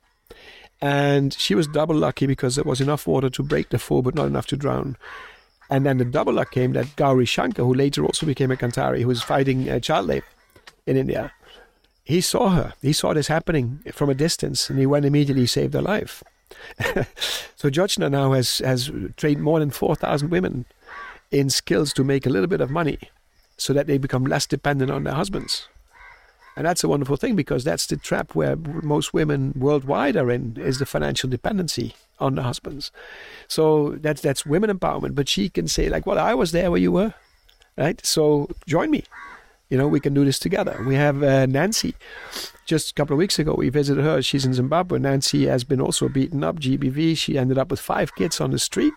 And she was double lucky, because there was enough water to break the fall, but not enough to drown. And then the double luck came that Gauri Shankar, who later also became a Kantari, who was fighting uh, child labor in India, he saw her. He saw this happening from a distance, and he went immediately, saved her life. So Georgina now has, has trained more than four thousand women in skills to make a little bit of money, so that they become less dependent on their husbands. And that's a wonderful thing, because that's the trap where most women worldwide are in, is the financial dependency on the husbands. So that's that's women empowerment. But she can say, like, well, I was there where you were, right? So join me. You know, we can do this together. We have uh, Nancy. Just a couple of weeks ago, we visited her. She's in Zimbabwe. Nancy has been also beaten up, G B V. She ended up with five kids on the street.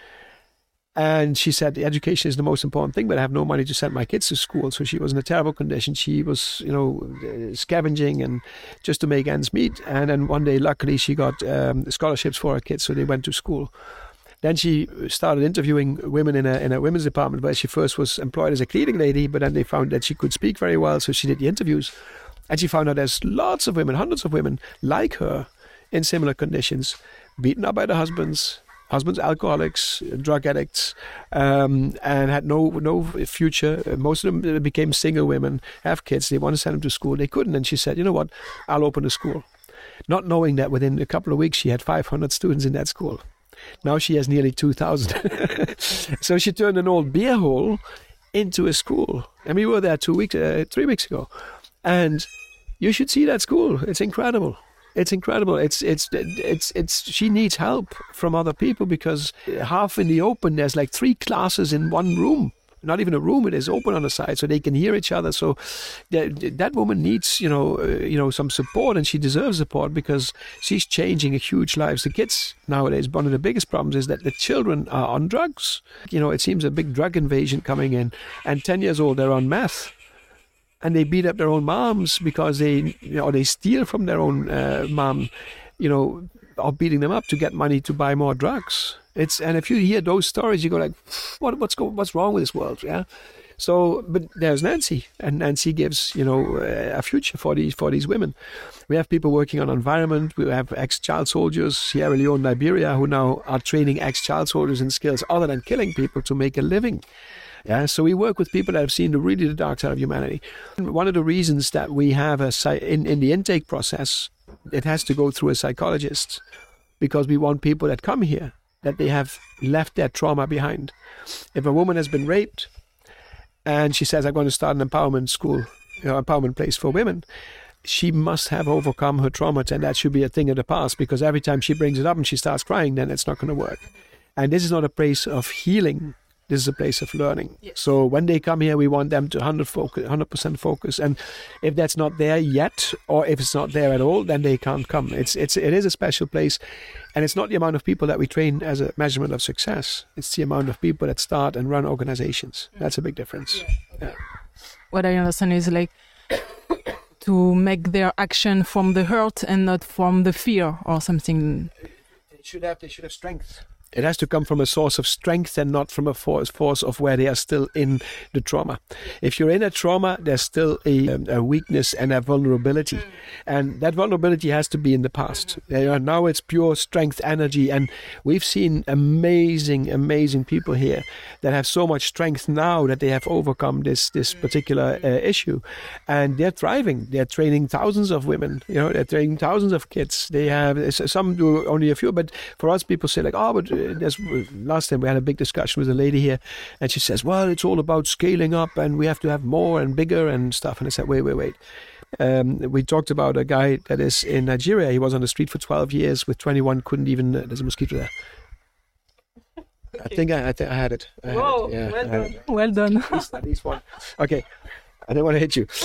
And she said, education is the most important thing, but I have no money to send my kids to school. So she was in a terrible condition. She was, you know, scavenging and just to make ends meet. And then one day, luckily, she got um, scholarships for her kids, so they went to school. Then she started interviewing women in a in a women's department, where she first was employed as a cleaning lady, but then they found that she could speak very well, so she did the interviews. And she found out there's lots of women, hundreds of women like her in similar conditions, beaten up by their husbands, husbands alcoholics, drug addicts, um, and had no no future. Most of them became single women, have kids. They want to send them to school. They couldn't. And she said, you know what, I'll open a school. Not knowing that within a couple of weeks, she had five hundred students in that school. Now she has nearly two thousand. So she turned an old beer hole into a school. And we were there two weeks, uh, three weeks ago. And you should see that school. It's incredible. It's incredible. It's it's it's it's. She needs help from other people, because half in the open, there's like three classes in one room. Not even a room. It is open on the side, so they can hear each other. So that that woman needs, you know, uh, you know, some support, and she deserves support, because she's changing a huge lives. The kids nowadays, one of the biggest problems is that the children are on drugs. You know, it seems a big drug invasion coming in, and ten years old, they're on meth. And they beat up their own moms because they, you know, they steal from their own uh, mom. You know, are beating them up to get money to buy more drugs. It's and if you hear those stories, you go like, what what's go, what's wrong with this world? Yeah. So, but there's Nancy, and Nancy gives, you know, a future for these for these women. We have people working on environment. We have ex-child soldiers, Sierra Leone, Liberia, who now are training ex-child soldiers in skills other than killing people to make a living. Yeah, so we work with people that have seen the really the dark side of humanity. And one of the reasons that we have a in in the intake process, it has to go through a psychologist, because we want people that come here that they have left their trauma behind. If a woman has been raped, and she says, I'm going to start an empowerment school, you know, empowerment place for women, she must have overcome her trauma, and that should be a thing of the past, because every time she brings it up and she starts crying, then it's not going to work. And this is not a place of healing. This is a place of learning. Yes. So when they come here, we want them to one hundred percent focus. And if that's not there yet, or if it's not there at all, then they can't come. It's it's it is a special place. And it's not the amount of people that we train as a measurement of success. It's the amount of people that start and run organizations. That's a big difference. Yeah. Yeah. What I understand is like to make their action from the hurt and not from the fear or something. They should have, they should have strength. It has to come from a source of strength and not from a force, force of where they are still in the trauma. If you're in a trauma, there's still a, a weakness and a vulnerability. Mm. And that vulnerability has to be in the past. Mm. Now it's pure strength, energy. And we've seen amazing, amazing people here that have so much strength now that they have overcome this, this particular uh, issue. And they're thriving. They're training thousands of women. You know, they're training thousands of kids. They have, some do only a few. But for us, people say like, oh, but There's, last time we had a big discussion with a lady here, and she says, well, it's all about scaling up and we have to have more and bigger and stuff. And I said, wait, wait, wait. Um, we talked about a guy that is in Nigeria. He was on the street for twelve years with twenty-one, couldn't even, uh, there's a mosquito there. Okay. I think I, I, th- I had it. I had Whoa, it. Yeah, well done. It. Well done. At least, at least one. Okay, I don't want to hit you.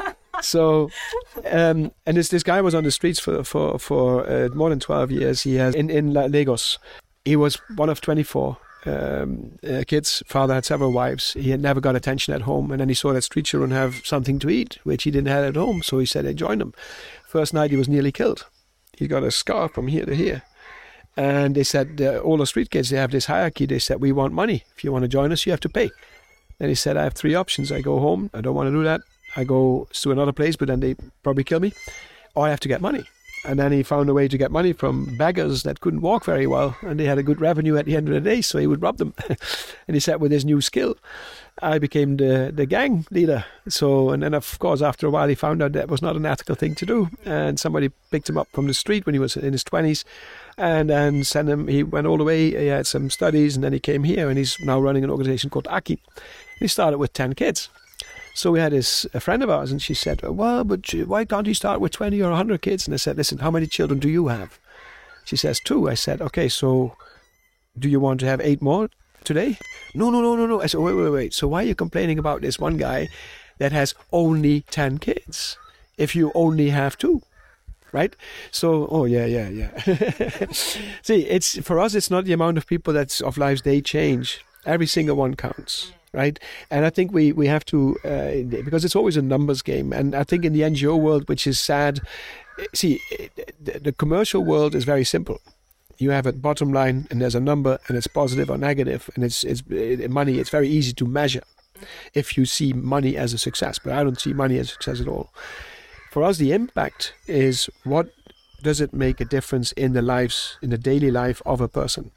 So, um, and this this guy was on the streets for for for uh, more than twelve years. He has in in Lagos. He was one of twenty-four um, uh, kids. Father had several wives. He had never got attention at home. And then he saw that street children have something to eat, which he didn't have at home. So he said he joined them. First night, he was nearly killed. He got a scar from here to here. And they said, uh, all the street kids, they have this hierarchy. They said, we want money. If you want to join us, you have to pay. Then he said, I have three options. I go home. I don't want to do that. I go to another place, but then they probably kill me. Or I have to get money. And then he found a way to get money from beggars that couldn't walk very well, and they had a good revenue at the end of the day, so he would rob them. And he said, with his new skill, I became the, the gang leader. So, and then of course, after a while, he found out that was not an ethical thing to do. And somebody picked him up from the street when he was in his twenties, and then sent him. He went all the way. He had some studies, and then he came here, and he's now running an organization called Aki. He started with ten kids. So we had this a friend of ours, and she said, well, but why can't you start with twenty or one hundred kids? And I said, listen, how many children do you have? She says, two. I said, okay, so do you want to have eight more today? No, no, no, no, no. I said, wait, wait, wait. So why are you complaining about this one guy that has only ten kids if you only have two? Right? So, oh, yeah, yeah, yeah. See, it's for us, it's not the amount of people that's of lives they change. Every single one counts. Right, and I think we we have to uh, because it's always a numbers game, and I think in the N G O world, which is sad, see, the, the commercial world is very simple. You have a bottom line, and there's a number, and it's positive or negative, and it's it's it, money. It's very easy to measure if you see money as a success, but I don't see money as a success at all. For us, the impact is what does it make a difference in the lives, in the daily life of a person.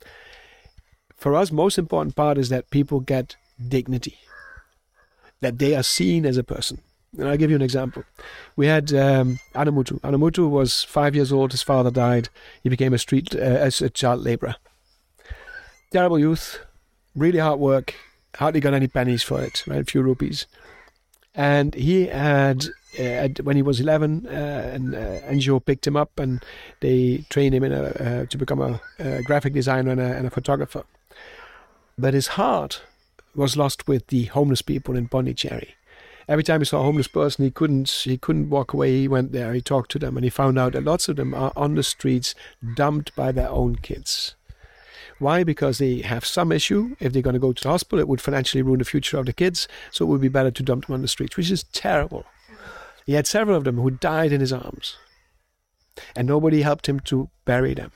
For us, most important part is that people get dignity, that they are seen as a person. And I'll give you an example. We had um, Anamutu. Anamutu was five years old. His father died. He became a street uh, as a child laborer. Terrible youth, really hard work. Hardly got any pennies for it, right? A few rupees. And he had, uh, when he was eleven, uh, an uh, N G O picked him up and they trained him in a, uh, to become a, a graphic designer and a, and a photographer. But his heart was lost with the homeless people in Pondicherry. Every time he saw a homeless person, he couldn't he couldn't walk away. He went there, he talked to them, and he found out that lots of them are on the streets, dumped by their own kids. Why? Because they have some issue. If they're going to go to the hospital, it would financially ruin the future of the kids, so it would be better to dump them on the streets, which is terrible. He had several of them who died in his arms. and nobody helped him to bury them.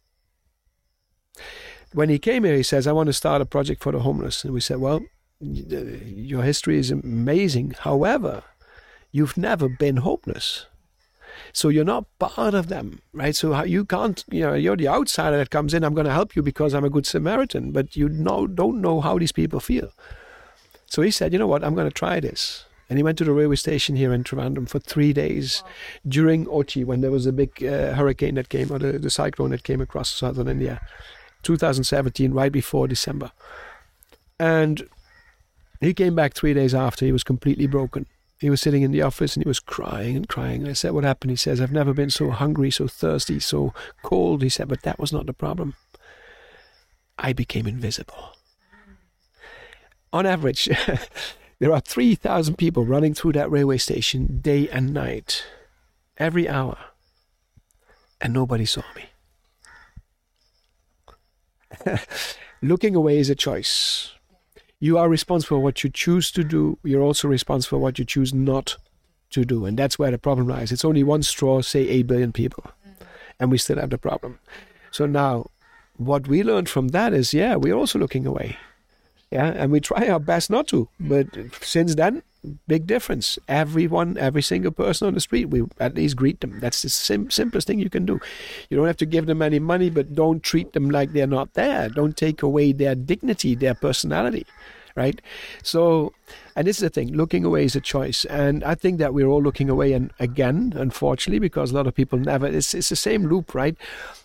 When he came here, he says, I want to start a project for the homeless. And we said, well, your history is amazing. However, you've never been homeless. So you're not part of them, right? So how, you can't, you know, you're the outsider that comes in. I'm going to help you because I'm a good Samaritan, but you know, don't know how these people feel. So he said, you know what, I'm going to try this. And he went to the railway station here in Trivandrum for three days wow. during Ochi, when there was a big uh, hurricane that came, or the, the cyclone that came across southern India, two thousand seventeen, right before December. And he came back three days after. He was completely broken. He was sitting in the office and he was crying and crying. And I said, what happened? He says, I've never been so hungry, so thirsty, so cold. He said, but that was not the problem. I became invisible. On average, there are three thousand people running through that railway station day and night, every hour. And nobody saw me. Looking away is a choice. You are responsible for what you choose to do. You're also responsible for what you choose not to do. And that's where the problem lies. It's only one straw, say eight billion people. And we still have the problem. So now, what we learned from that is, yeah, we're also looking away. Yeah, and we try our best not to. But since then, big difference. Everyone, every single person on the street, we at least greet them. That's the sim- simplest thing you can do. You don't have to give them any money, but don't treat them like they're not there. Don't take away their dignity, their personality, right? So, and this is the thing, looking away is a choice. And I think that we're all looking away, and again, unfortunately, because a lot of people never, it's, it's the same loop, right?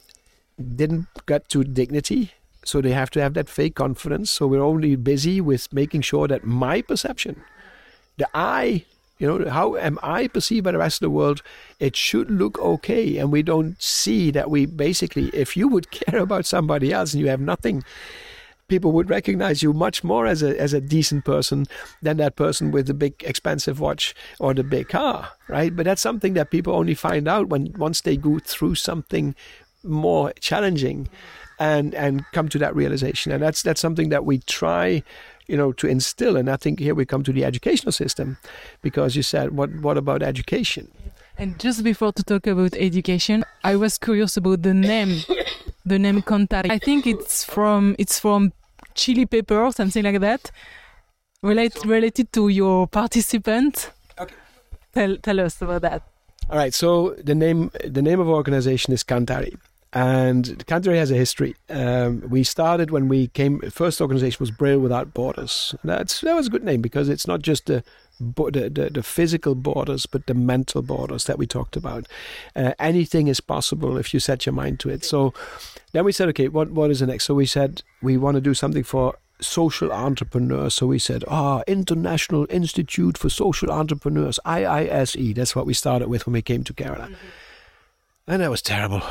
Didn't get to dignity, so they have to have that fake confidence. So we're only busy with making sure that my perception, the I, you know, how am I perceived by the rest of the world? It should look okay. And we don't see that we basically, if you would care about somebody else and you have nothing, people would recognize you much more as a as a decent person than that person with the big expensive watch or the big car, right? But that's something that people only find out when once they go through something more challenging and and come to that realization. And that's that's something that we try, you know, to instill. And I think here we come to the educational system, because you said, what what about education? And just before to talk about education, I was curious about the name, the name Cantari. I think it's from it's from chili pepper or something like that, relate, related to your participant. Okay. Tell tell us about that. All right. So the name the name of our organization is Cantari. And Cantari has a history. Um, we started when we came. First organization was Braille Without Borders. That's that was a good name, because it's not just the the, the, the physical borders, but the mental borders that we talked about. Uh, anything is possible if you set your mind to it. So then we said, okay, what what is the next? So we said we want to do something for social entrepreneurs. So we said, ah, oh, International Institute for Social Entrepreneurs, I I S E. That's what we started with when we came to Kerala. Mm-hmm. And that was terrible.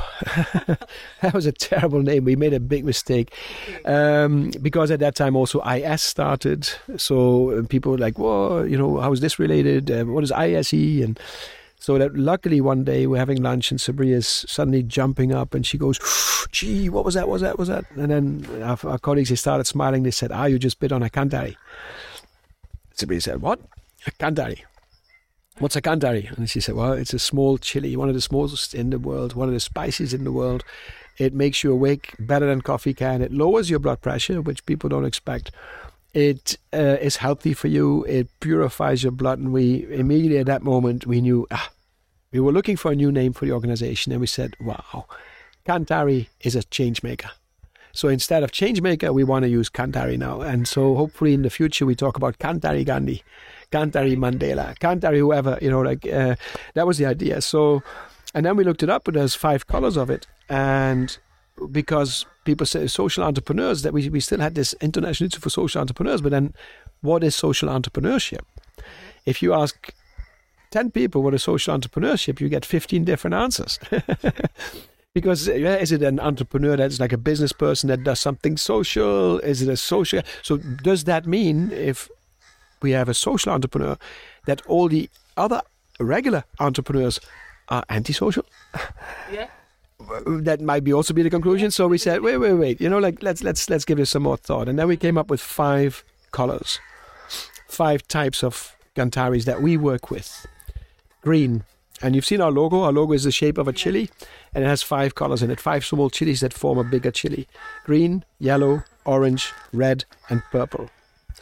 That was a terrible name. We made a big mistake. Um, because at that time also I S started. So people were like, whoa, you know, how is this related? Uh, what is I S E? And so that luckily one day we're having lunch and Sabria's suddenly jumping up and she goes, gee, what was that? What was that? What was that? And then our, our colleagues, they started smiling. They said, ah, you just bit on a Cantari. Sabria said, what? A Cantari. What's a Cantari? And she said, well, it's a small chili, one of the smallest in the world, one of the spices in the world. It makes you awake better than coffee can. It lowers your blood pressure, which people don't expect. It uh, is healthy for you. It purifies your blood. And we immediately at that moment, we knew, ah, we were looking for a new name for the organization. And we said, wow, Cantari is a change maker. So instead of change maker, we want to use Cantari now. And so hopefully in the future, we talk about Cantari Gandhi, Cantari Mandela, Cantari whoever, you know, like uh, that was the idea. So, and then we looked it up, and there's five colors of it. And because people say social entrepreneurs, that we, we still had this International Institute for Social Entrepreneurs. But then what is social entrepreneurship? If you ask ten people what is social entrepreneurship, you get fifteen different answers. Because yeah, is it an entrepreneur that's like a business person that does something social? Is it a social? So does that mean if we have a social entrepreneur that all the other regular entrepreneurs are antisocial? Yeah. That might be also be the conclusion. So we said, wait, wait, wait. You know, like let's let's let's give this some more thought. And then we came up with five colors, five types of Cantaris that we work with: green, And you've seen our logo. Our logo is the shape of a chili, and it has five colors in it, five small chilies that form a bigger chili. Green, yellow, orange, red, and purple.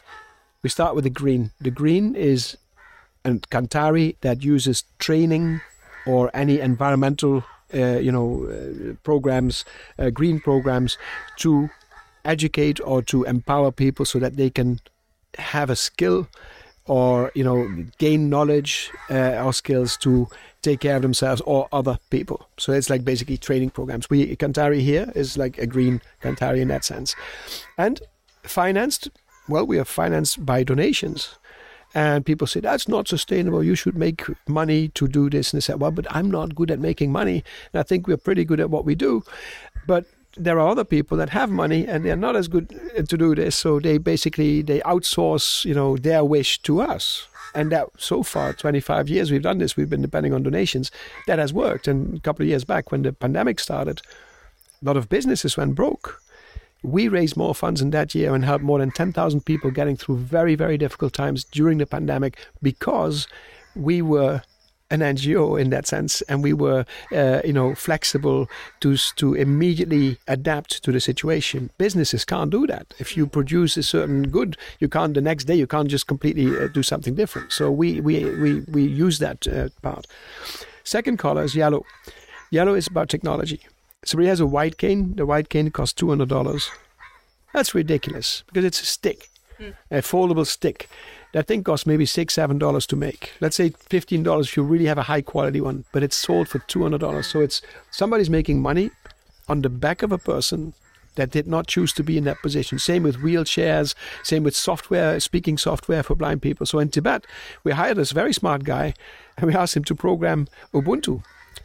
We start with the green. The green is a Cantari that uses training or any environmental, uh, you know, uh, programs, uh, green programs to educate or to empower people so that they can have a skill or, you know, gain knowledge uh, or skills to take care of themselves or other people. So it's like basically training programs. We Cantari here is like a green Cantari in that sense. And financed, well, we are financed by donations. And people say, that's not sustainable. You should make money to do this. And they say, well, but I'm not good at making money. And I think we're pretty good at what we do. But there are other people that have money and they're not as good to do this. So they basically, they outsource, you know, their wish to us. And that so far, twenty-five years we've done this, we've been depending on donations. That has worked. And a couple of years back when the pandemic started, a lot of businesses went broke. We raised more funds in that year and helped more than ten thousand people getting through very, very difficult times during the pandemic because we were an N G O in that sense, and we were, uh, you know, flexible to to immediately adapt to the situation. Businesses can't do that. If you produce a certain good, you can't the next day. You can't just completely uh, do something different. So we we we we use that uh, part. Second color is yellow. Yellow is about technology. Somebody has a white cane. The white cane costs two hundred dollars. That's ridiculous because it's a stick, mm. a foldable stick. That thing costs maybe six, seven dollars to make. Let's say fifteen dollars if you really have a high quality one, but it's sold for two hundred dollars. So it's somebody's making money on the back of a person that did not choose to be in that position. Same with wheelchairs, same with software, speaking software for blind people. So in Tibet, we hired this very smart guy and we asked him to program Ubuntu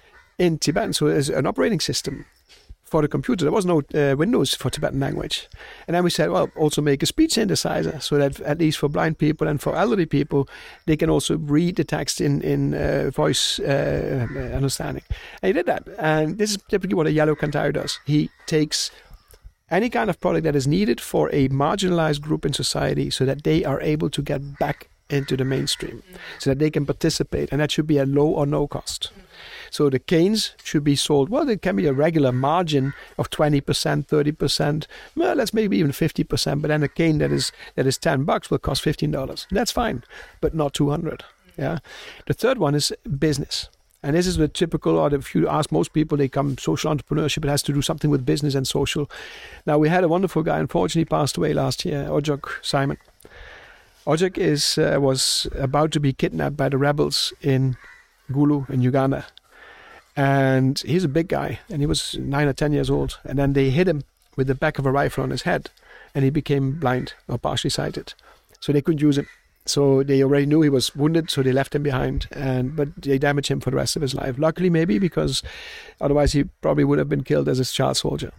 in Tibetan. So as an operating system for the computer. There was no uh, Windows for Tibetan language. And then we said, well, also make a speech synthesizer so that at least for blind people and for elderly people, they can also read the text in, in uh, voice uh, understanding. And he did that. And this is typically what a yellow Cantari does. He takes any kind of product that is needed for a marginalized group in society so that they are able to get back into the mainstream, so that they can participate. And that should be at low or no cost. So the canes should be sold, well, there can be a regular margin of twenty percent, thirty percent, well, let's maybe even fifty percent, but then a cane that is that is ten bucks will cost fifteen dollars. That's fine, but not two hundred. Yeah. The third one is business. And this is the typical, or if you ask most people, they come social entrepreneurship, it has to do something with business and social. Now, we had a wonderful guy, unfortunately passed away last year, Ojok Simon. Ojok is, uh, was about to be kidnapped by the rebels in Gulu in Uganda. And he's a big guy, and he was nine or ten years old. And then they hit him with the back of a rifle on his head, and he became blind or partially sighted. So they couldn't use him. So they already knew he was wounded, so they left him behind. And but they damaged him for the rest of his life. Luckily, maybe, because otherwise he probably would have been killed as a child soldier.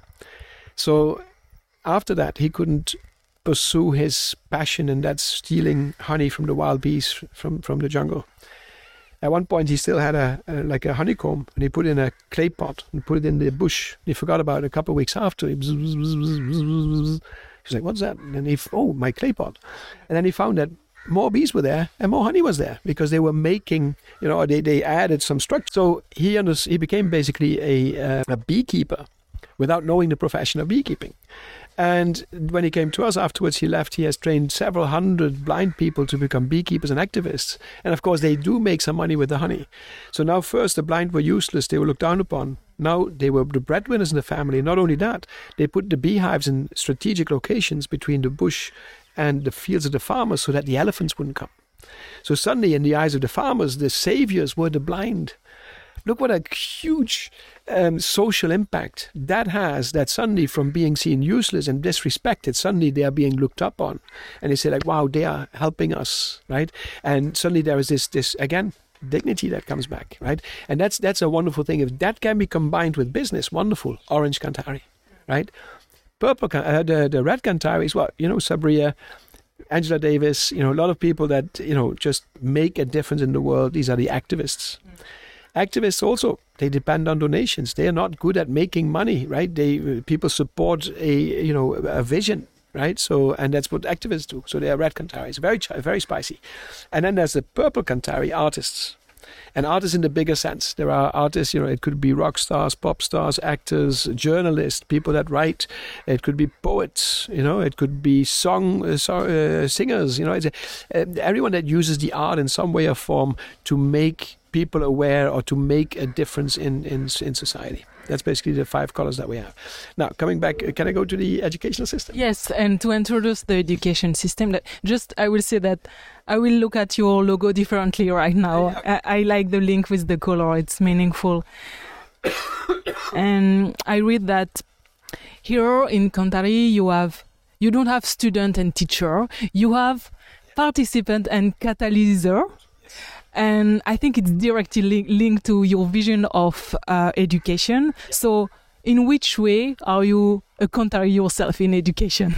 So after that, he couldn't pursue his passion, and that's stealing honey from the wild bees from, from the jungle. At one point, he still had a, a like a honeycomb, and he put it in a clay pot and put it in the bush. He forgot about it a couple of weeks after. He bzz, bzz, bzz, bzz, bzz. He's like, what's that? And he, oh, my clay pot. And then he found that more bees were there and more honey was there because they were making, you know, they, they added some structure. So he under, he became basically a, uh, a beekeeper without knowing the profession of beekeeping. And when he came to us afterwards, he left. He has trained several hundred blind people to become beekeepers and activists. And of course, they do make some money with the honey. So now first, the blind were useless. They were looked down upon. Now they were the breadwinners in the family. Not only that, they put the beehives in strategic locations between the bush and the fields of the farmers so that the elephants wouldn't come. So suddenly, in the eyes of the farmers, the saviors were the blind. Look what a huge um, social impact that has, that suddenly from being seen useless and disrespected, suddenly they are being looked up on. And they say like, wow, they are helping us, right? And suddenly there is this, this again, dignity that comes back, right? And that's that's a wonderful thing. If that can be combined with business, wonderful. Orange Cantari, right? Purple, uh, the, the red Cantari is what, you know, Sabria, Angela Davis, you know, a lot of people that, you know, just make a difference in the world. These are the activists. Mm. Activists also, they depend on donations. They are not good at making money, right? They people support a, you know, a vision, right? So, and that's what activists do. So they are red Cantari. It's very, very spicy. And then there's the purple Cantari artists. And artists in the bigger sense. There are artists, you know, it could be rock stars, pop stars, actors, journalists, people that write. It could be poets, you know, it could be song uh, so, uh, singers, you know. It's a, uh, everyone that uses the art in some way or form to make people aware or to make a difference in, in, in society. That's basically the five colors that we have. Now, coming back, can I go to the educational system? Yes, and to introduce the education system, that just I will say that I will look at your logo differently right now. I, I like the link with the color; it's meaningful. And I read that here in Cantari, you have you don't have student and teacher, you have participant and catalyzer. And I think it's directly li- linked to your vision of uh, education. So in which way are you a Cantari yourself in education?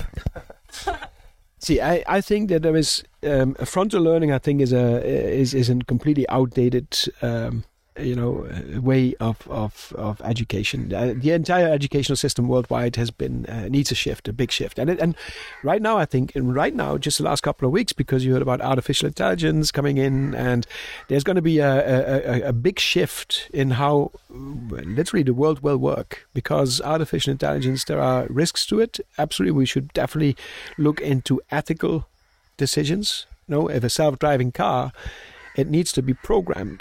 See, I, I think that there is um, frontal learning. I think is a is is a completely outdated um, you know way of of of education. Uh, the entire educational system worldwide has been uh, needs a shift, a big shift. And it, and right now, I think, and right now, just the last couple of weeks, because you heard about artificial intelligence coming in, and there's going to be a, a, a big shift in how literally the world will work. Because artificial intelligence, there are risks to it. Absolutely, we should definitely look into ethical decisions. You know, if a self-driving car, it needs to be programmed.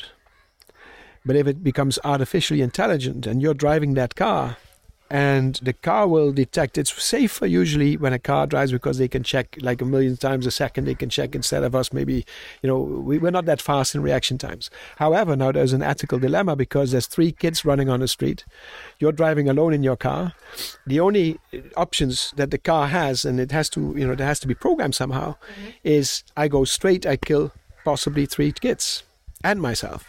But if it becomes artificially intelligent and you're driving that car and the car will detect, it's safer usually when a car drives because they can check like a million times a second, they can check instead of us maybe, you know, we, we're not that fast in reaction times. However, now there's an ethical dilemma because there's three kids running on the street. You're driving alone in your car. The only options that the car has, and it has to, you know, it has to be programmed somehow, mm-hmm. is I go straight, I kill possibly three kids and myself.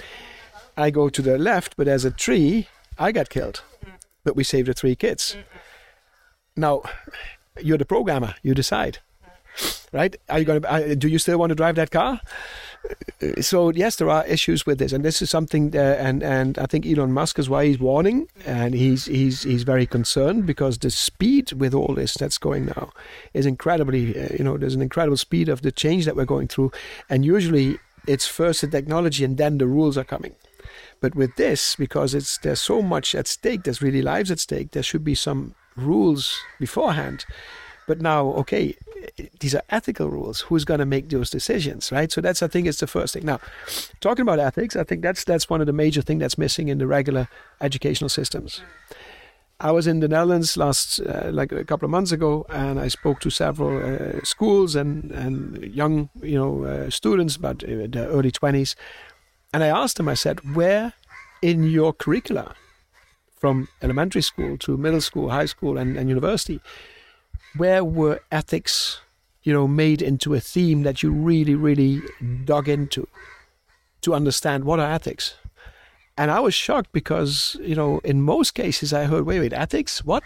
I go to the left, but there's a tree, I got killed. But we saved the three kids. Now, you're the programmer, you decide. Right? Are you going to, do you still want to drive that car? So, yes, there are issues with this. And this is something, uh, and, and I think Elon Musk is why he's warning. And he's, he's, he's very concerned because the speed with all this that's going now is incredibly, uh, you know, there's an incredible speed of the change that we're going through. And usually it's first the technology and then the rules are coming. But with this, because it's there's so much at stake, there's really lives at stake, there should be some rules beforehand. But now, okay, these are ethical rules. Who's going to make those decisions, right? So that's, I think, it's the first thing. Now, talking about ethics, I think that's that's one of the major things that's missing in the regular educational systems. I was in the Netherlands last, uh, like a couple of months ago, and I spoke to several uh, schools and, and young, you know, uh, students, about uh, the early twenties. And I asked them, I said, where in your curricula, from elementary school to middle school, high school, and, and university, where were ethics, you know, made into a theme that you really, really dug into to understand what are ethics? And I was shocked because, you know, in most cases I heard, wait, wait, ethics? What?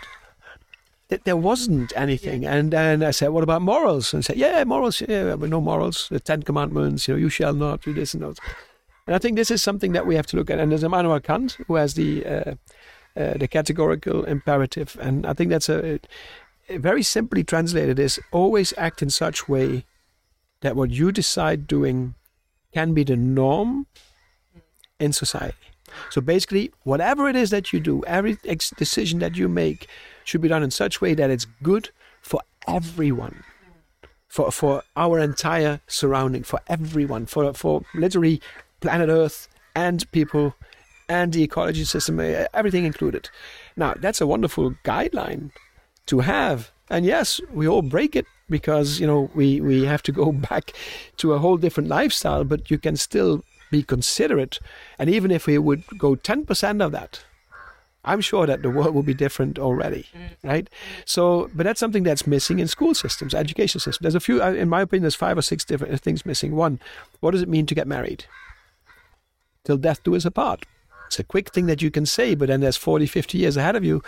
There wasn't anything. Yeah. And then I said, what about morals? And I said, yeah, morals, yeah, but no morals. The Ten Commandments, you know, you shall not do this and that. And I think this is something that we have to look at. And there's Immanuel Kant, who has the uh, uh, the categorical imperative. And I think that's a, a very simply translated is always act in such way that what you decide doing can be the norm in society. So basically, whatever it is that you do, every ex- decision that you make should be done in such way that it's good for everyone. For for our entire surrounding, for everyone, for for literally planet Earth and people and the ecology system, everything included. Now, that's a wonderful guideline to have. And yes, we all break it because, you know, we, we have to go back to a whole different lifestyle, but you can still be considerate. And even if we would go ten percent of that, I'm sure that the world will be different already, right? So, but that's something that's missing in school systems, education systems. There's a few, in my opinion, there's five or six different things missing. One, what does it mean to get married? Till death do us apart. It's a quick thing that you can say, but then there's forty, fifty years ahead of you.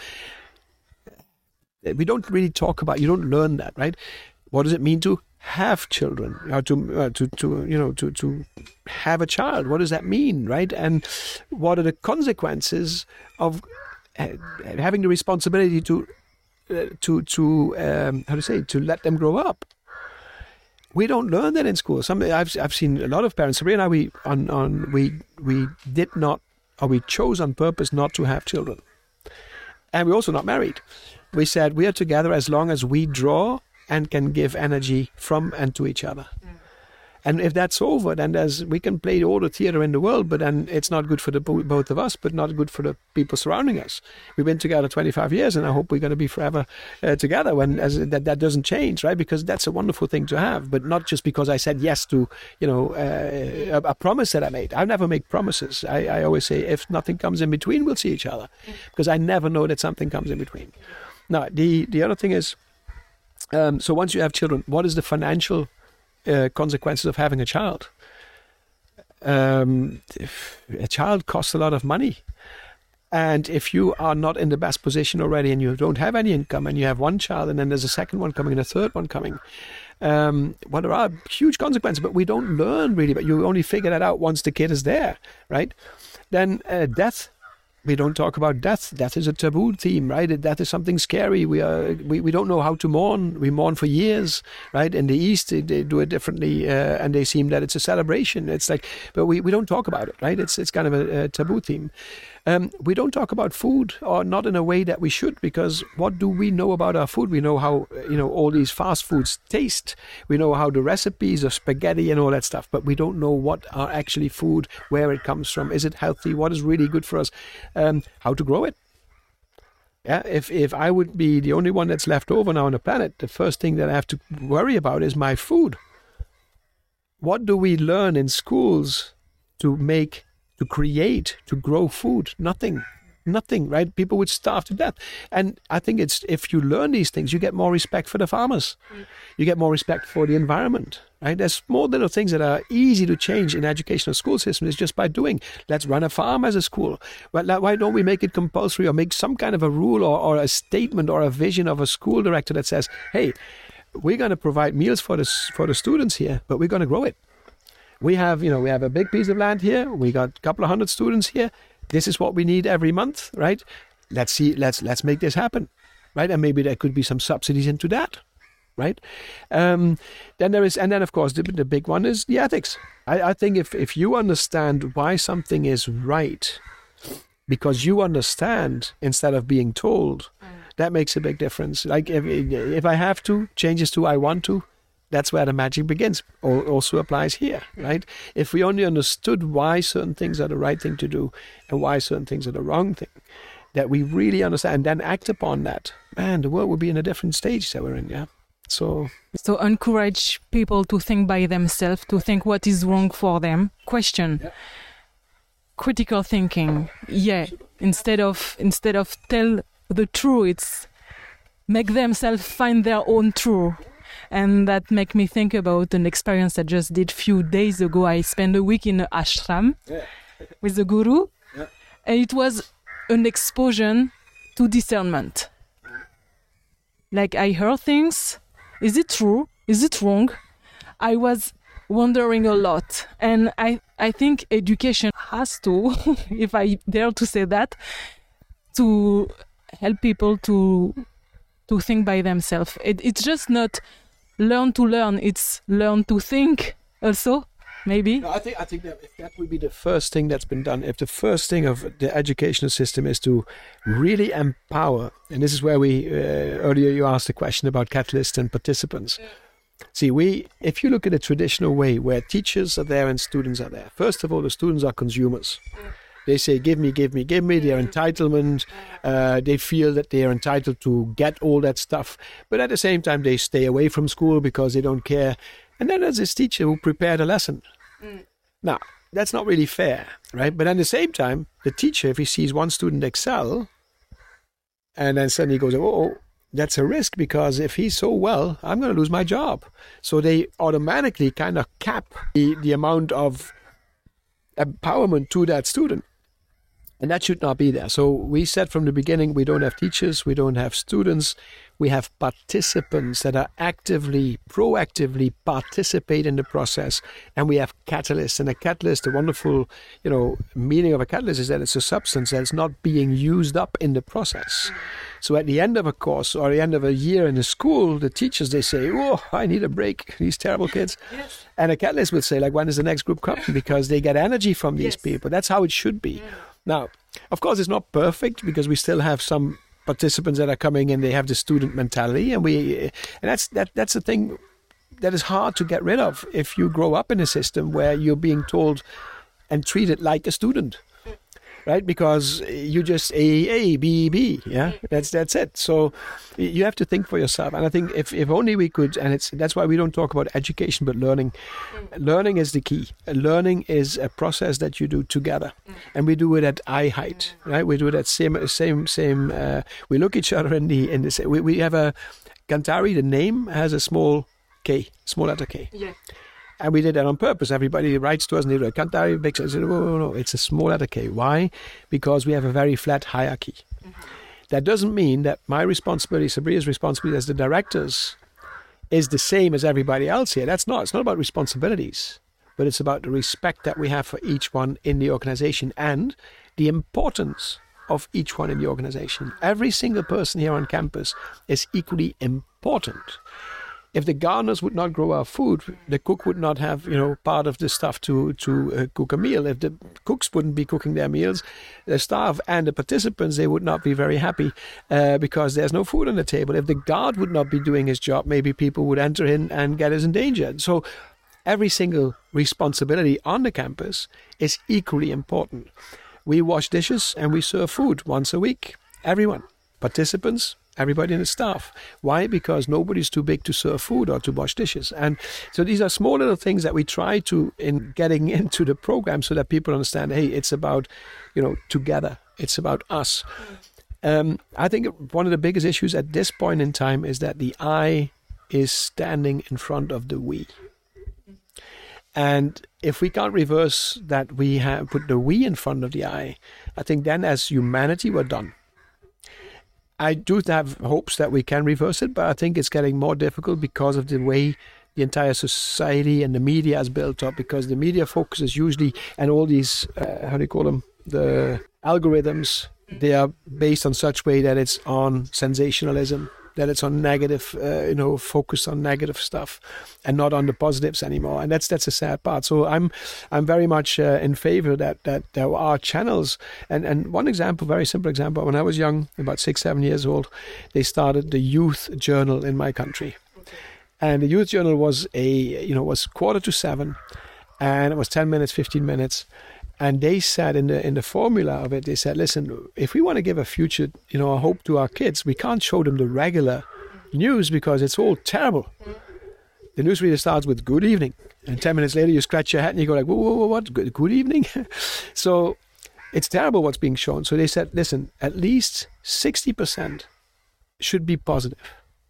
We don't really talk about, you don't learn that, right? What does it mean to have children? Or to, uh, to, to, you know, to, to have a child? What does that mean, right? And what are the consequences of uh, having the responsibility to, uh, to, to um, how to say, to let them grow up? We don't learn that in school. Some I've I've seen a lot of parents. Sabrina and I, we on on we we did not, or we chose on purpose not to have children, and we're also not married. We said we are together as long as we draw and can give energy from and to each other. Mm. And if that's over, then there's we can play all the theater in the world, but then it's not good for the both of us, but not good for the people surrounding us. We've been together twenty-five years, and I hope we're going to be forever uh, together. When as that that doesn't change, right? Because that's a wonderful thing to have, but not just because I said yes to you know uh, a, a promise that I made. I never make promises. I, I always say if nothing comes in between, we'll see each other, because I never know that something comes in between. Now the the other thing is, um, so once you have children, what is the financial Uh, consequences of having a child? Um, a child costs a lot of money, and if you are not in the best position already, and you don't have any income, and you have one child, and then there's a second one coming and a third one coming, um, well, there are huge consequences. But we don't learn really. But you only figure that out once the kid is there, right? Then uh, death. We don't talk about death. Death is a taboo theme, right? Death is something scary. We are we, we don't know how to mourn. We mourn for years, right? In the East, they, they do it differently, uh, and they seem that it's a celebration. It's like, but we, we don't talk about it, right? It's it's kind of a, a taboo theme. Um, we don't talk about food, or not in a way that we should, because what do we know about our food? We know how you know all these fast foods taste. We know how the recipes of spaghetti and all that stuff, but we don't know what are actually food, where it comes from, is it healthy, what is really good for us, um, how to grow it. Yeah, if if I would be the only one that's left over now on the planet, the first thing that I have to worry about is my food. What do we learn in schools to make? To create, to grow food? Nothing, nothing, right? People would starve to death. And I think it's if you learn these things, you get more respect for the farmers. Mm. You get more respect for the environment, right? There's small little things that are easy to change in educational school systems. It's just by doing. Let's run a farm as a school. Well, why don't we make it compulsory, or make some kind of a rule, or, or a statement, or a vision of a school director that says, hey, we're going to provide meals for the, for the students here, but we're going to grow it. We have, you know, we have a big piece of land here. We got a couple of hundred students here. This is what we need every month, right? Let's see, let's let's make this happen, right? And maybe there could be some subsidies into that, right? Um, then there is, and then of course the, the big one is the ethics. I, I think if if you understand why something is right, because you understand instead of being told, mm. that makes a big difference. Like if if I have to, changes to I want to. That's where the magic begins. Also applies here, right? If we only understood why certain things are the right thing to do and why certain things are the wrong thing, that we really understand and then act upon that, man, the world would be in a different stage that we're in, yeah? So, so encourage people to think by themselves, to think what is wrong for them. Question. Yeah. Critical thinking. Yeah. Instead of instead of tell the truth, it's make themselves find their own truth. And that make me think about an experience I just did a few days ago. I spent a week in an ashram yeah. with the guru. Yeah. And it was an exposure to discernment. Like I heard things. Is it true? Is it wrong? I was wondering a lot. And I, I think education has to, if I dare to say that, to help people to to think by themselves. It, it's just not learn to learn, it's learn to think also, maybe. No, I think I think that if that would be the first thing that's been done, if the first thing of the educational system is to really empower, and this is where we, uh, earlier you asked a question about catalysts and participants. Yeah. See, we, if you look at the traditional way where teachers are there and students are there, first of all, the students are consumers. Yeah. They say, give me, give me, give me, their entitlement. Uh, they feel that they are entitled to get all that stuff. But at the same time, they stay away from school because they don't care. And then there's this teacher who prepared a lesson. Mm. Now, that's not really fair, right? But at the same time, the teacher, if he sees one student excel, and then suddenly he goes, oh, that's a risk, because if he's so well, I'm going to lose my job. So they automatically kind of cap the, the amount of empowerment to that student. And that should not be there. So we said from the beginning, we don't have teachers, we don't have students, we have participants that are actively, proactively participate in the process, and we have catalysts. And a catalyst, the wonderful, you know, meaning of a catalyst is that it's a substance that's not being used up in the process. So at the end of a course or the end of a year in the school, the teachers, they say, oh, I need a break, these terrible kids. Yes. And a catalyst would say, like, when is the next group coming? Because they get energy from these yes. people. That's how it should be. Yeah. Now, of course, it's not perfect because we still have some participants that are coming and they have the student mentality, and we, and that's that that's the thing that is hard to get rid of if you grow up in a system where you're being told and treated like a student, right? Because you just A, A, B, B, yeah, that's that's it. So you have to think for yourself, and I think if, if only we could, and it's that's why we don't talk about education but learning. Learning is the key. Learning is a process that you do together, and we do it at eye height, right? We do it at same same same. Uh, we look each other in the in the. We we have a Kantari. The name has a small K, small letter K. Yeah. And we did that on purpose. Everybody writes to us and they go, Kantari, big. I said, no, no, no, it's a small letter K. Why? Because we have a very flat hierarchy. Mm-hmm. That doesn't mean that my responsibility, Sabria's responsibility as the directors, is the same as everybody else here. That's not. It's not about responsibilities, but it's about the respect that we have for each one in the organization and the importance of each one in the organization. Every single person here on campus is equally important. If the gardeners would not grow our food, the cook would not have, you know, part of the stuff to to uh, cook a meal. If the cooks wouldn't be cooking their meals, the staff and the participants, they would not be very happy uh, because there's no food on the table. If the guard would not be doing his job, maybe people would enter in and get us in danger. So every single responsibility on the campus is equally important. We wash dishes and we serve food once a week. Everyone, participants, everybody in the staff. Why? Because nobody's too big to serve food or to wash dishes. And so these are small little things that we try to, in getting into the program so that people understand, hey, it's about, you know, together. It's about us. Um, I think one of the biggest issues at this point in time is that the I is standing in front of the we. And if we can't reverse that, we have put the we in front of the I, I think then as humanity, we're done. I do have hopes that we can reverse it, but I think it's getting more difficult because of the way the entire society and the media is built up, because the media focuses usually, and all these, uh, how do you call them, the algorithms, they are based on such way that it's on sensationalism, that it's on negative, uh, you know, focus on negative stuff and not on the positives anymore. And that's that's a sad part. So I'm I'm very much uh, in favor that that there are channels. And, and one example, very simple example, when I was young, about six, seven years old, they started the youth journal in my country. And the youth journal was a, you know, was quarter to seven, and it was ten minutes, fifteen minutes. And they said in the in the formula of it, they said, listen, if we want to give a future, you know, a hope to our kids, we can't show them the regular news because it's all terrible. The newsreader starts with good evening, and ten minutes later you scratch your head and you go like, whoa, whoa, whoa, what? Good, good evening? So it's terrible what's being shown. So they said, listen, at least sixty percent should be positive.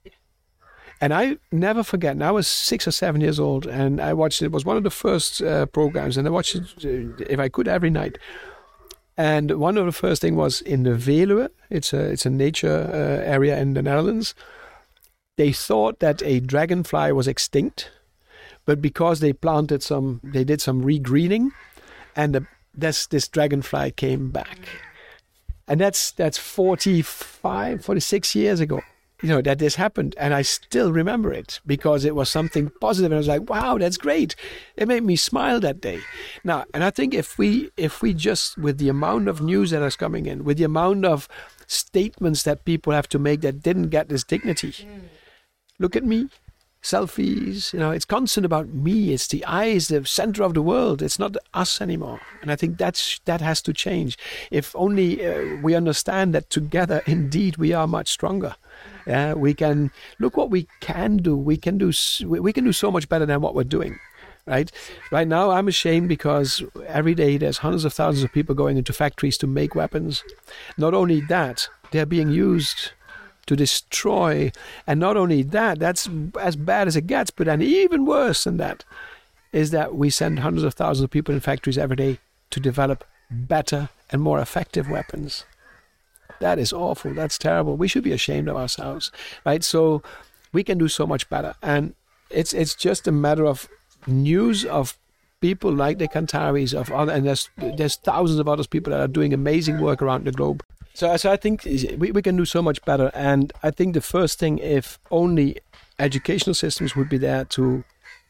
And I never forget, and I was six or seven years old, and I watched it. It was one of the first uh, programs, and I watched it, uh, if I could, every night. And one of the first thing was in the Veluwe. It's a, it's a nature uh, area in the Netherlands. They thought that a dragonfly was extinct, but because they planted some, they did some regreening, and the, this, this dragonfly came back. And that's that's forty-five, forty-six years ago. You know, that this happened, and I still remember it because it was something positive, and I was like, wow, that's great. It made me smile that day. Now, and I think if we if we just, with the amount of news that is coming in, with the amount of statements that people have to make that didn't get this dignity, mm. Look at me, selfies, you know, it's constant about me. It's the I, is the center of the world. It's not us anymore. And I think that's that has to change. If only uh, we understand that together, indeed, we are much stronger. Uh, we can look what we can do. We can do. We can do so much better than what we're doing, right? Right now, I'm ashamed because every day there's hundreds of thousands of people going into factories to make weapons. Not only that, they're being used to destroy, and not only that, that's as bad as it gets. But then even worse than that is that we send hundreds of thousands of people in factories every day to develop better and more effective weapons. That is awful. That's terrible. We should be ashamed of ourselves, right? So we can do so much better. And it's it's just a matter of news of people like the Kantaris, of other, and there's there's thousands of other people that are doing amazing work around the globe. So, so I think we, we can do so much better. And I think the first thing, if only educational systems would be there to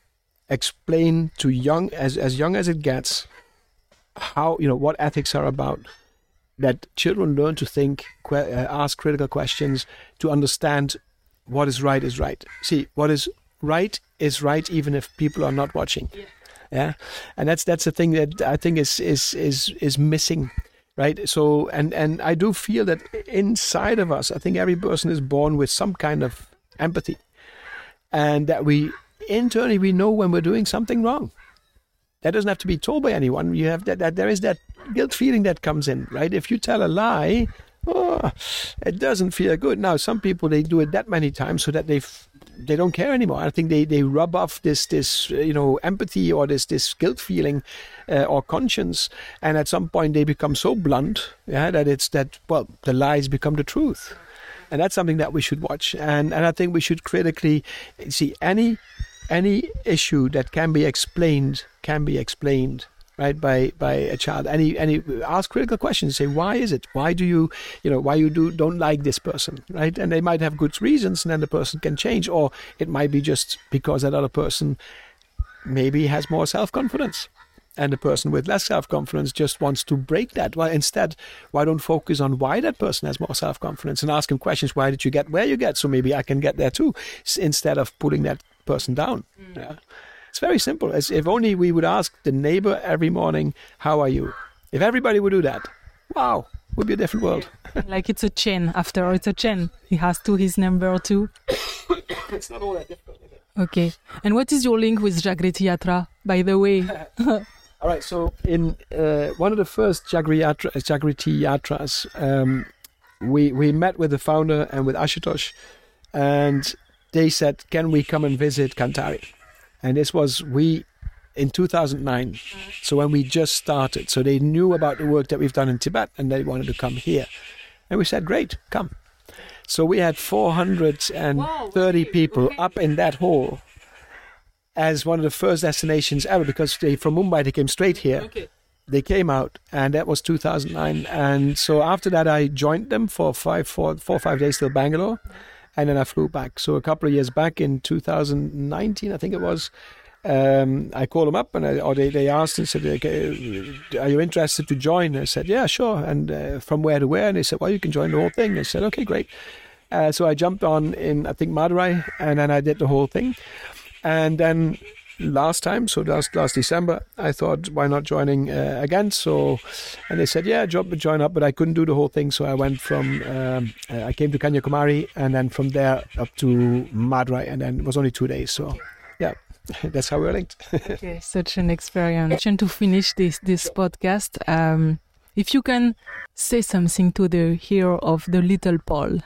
explain to young, as, as young as it gets, how, you know, what ethics are about, that children learn to think, que- uh, ask critical questions, to understand what is right is right. See, what is right is right even if people are not watching. Yeah. Yeah, and that's that's the thing that I think is is is is missing, right? So, and and I do feel that inside of us, I think every person is born with some kind of empathy, and that we internally we know when we're doing something wrong. That doesn't have to be told by anyone. You have that, that there is that guilt feeling that comes in, right? If you tell a lie, oh, it doesn't feel good. Now, some people, they do it that many times so that they they don't care anymore. I think they, they rub off this this you know empathy or this this guilt feeling uh, or conscience, and at some point they become so blunt, yeah, that it's that well the lies become the truth, and that's something that we should watch. And and I think we should critically see any any issue that can be explained can be explained. Right, by by a child. Any any ask critical questions. Say, why is it? Why do you you know why you do don't like this person? Right, and they might have good reasons, and then the person can change, or it might be just because that other person maybe has more self confidence, and the person with less self confidence just wants to break that. Well, instead, why don't focus on why that person has more self confidence and ask him questions? Why did you get where you get? So maybe I can get there too, instead of pulling that person down. Mm. Yeah. It's very simple. As if only we would ask the neighbor every morning, how are you? If everybody would do that, wow, it would be a different world. Like it's a chain. After all, it's a chain. He has to his number too. It's not all that difficult, is it? Okay. And what is your link with Jagriti Yatra, by the way? All right. So in uh, one of the first Jagriti Yatra, Jagriti Yatras, um, we, we met with the founder and with Ashutosh, and they said, can we come and visit Kantari? And this was we in two thousand nine, so when we just started. So they knew about the work that we've done in Tibet, and they wanted to come here. And we said, great, come. So we had four hundred thirty people up in that hall as one of the first destinations ever, because they, from Mumbai, they came straight here. Okay. They came out, and that was two thousand nine. And so after that, I joined them for five, four, four or five days till Bangalore. And then I flew back. So a couple of years back in two thousand nineteen, I think it was, um, I called them up and I, or they, they asked and said, okay, are you interested to join? I said, yeah, sure. And uh, from where to where? And they said, well, you can join the whole thing. I said, okay, great. Uh, so I jumped on in, I think, Madurai, and then I did the whole thing. And then last time, so last last December, I thought, why not joining uh, again? So, and they said, yeah, join, join up, but I couldn't do the whole thing. So I went from, um, uh, I came to Kanyakumari, and then from there up to Madurai, and then it was only two days. So, yeah, that's how we're linked. Okay, such an experience. And to finish this this podcast, um, if you can say something to the hero of the little Paul,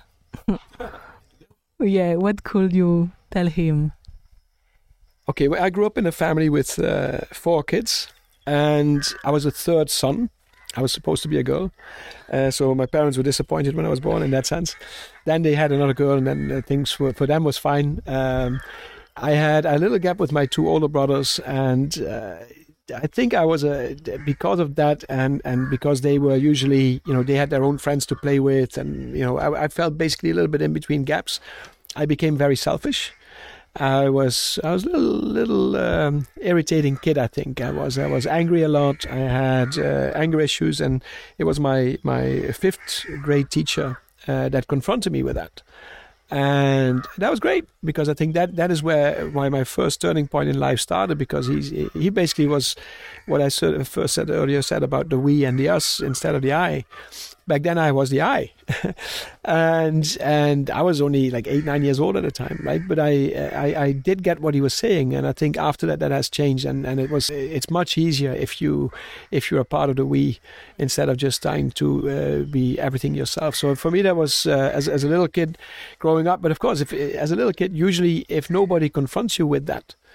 yeah, what could you tell him? Okay, well, I grew up in a family with uh, four kids, and I was a third son. I was supposed to be a girl, uh, so my parents were disappointed when I was born in that sense. Then they had another girl, and then uh, things were, for them was fine. Um, I had a little gap with my two older brothers, and uh, I think I was a because of that, and, and because they were usually, you know, they had their own friends to play with, and you know, I, I felt basically a little bit in between gaps. I became very selfish. I was I was a little little um, irritating kid. I think I was I was angry a lot. I had uh, anger issues, and it was my my fifth grade teacher uh, that confronted me with that, and that was great because I think that that is where why my first turning point in life started, because he he basically was what I first said earlier said about the we and the us instead of the I. Back then I was the I, and and I was only like eight nine years old at the time, right? But I, I I did get what he was saying, and I think after that that has changed, and, and it was it's much easier if you if you're a part of the we instead of just trying to uh, be everything yourself. So for me that was uh, as as a little kid growing up. But of course, if as a little kid, usually if nobody confronts you with that,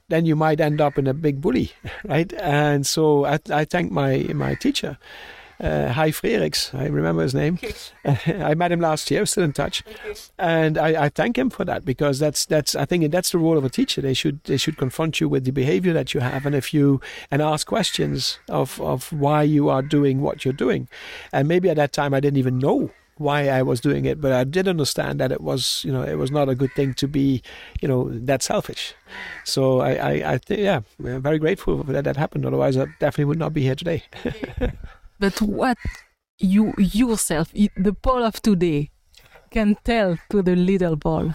then you might end up in a big bully, right? And so I, I thank my my teacher, uh, Hai Freriks, I remember his name. I met him last year, still in touch, and I, I thank him for that, because that's that's I think that's the role of a teacher. They should they should confront you with the behavior that you have, and if you and ask questions of of why you are doing what you're doing, and maybe at that time I didn't even know why I was doing it, but I did understand that it was, you know, it was not a good thing to be, you know, that selfish. So I, I, I think, yeah, I'm very grateful that that happened. Otherwise, I definitely would not be here today. But what you yourself, the Paul of today, can tell to the little Paul?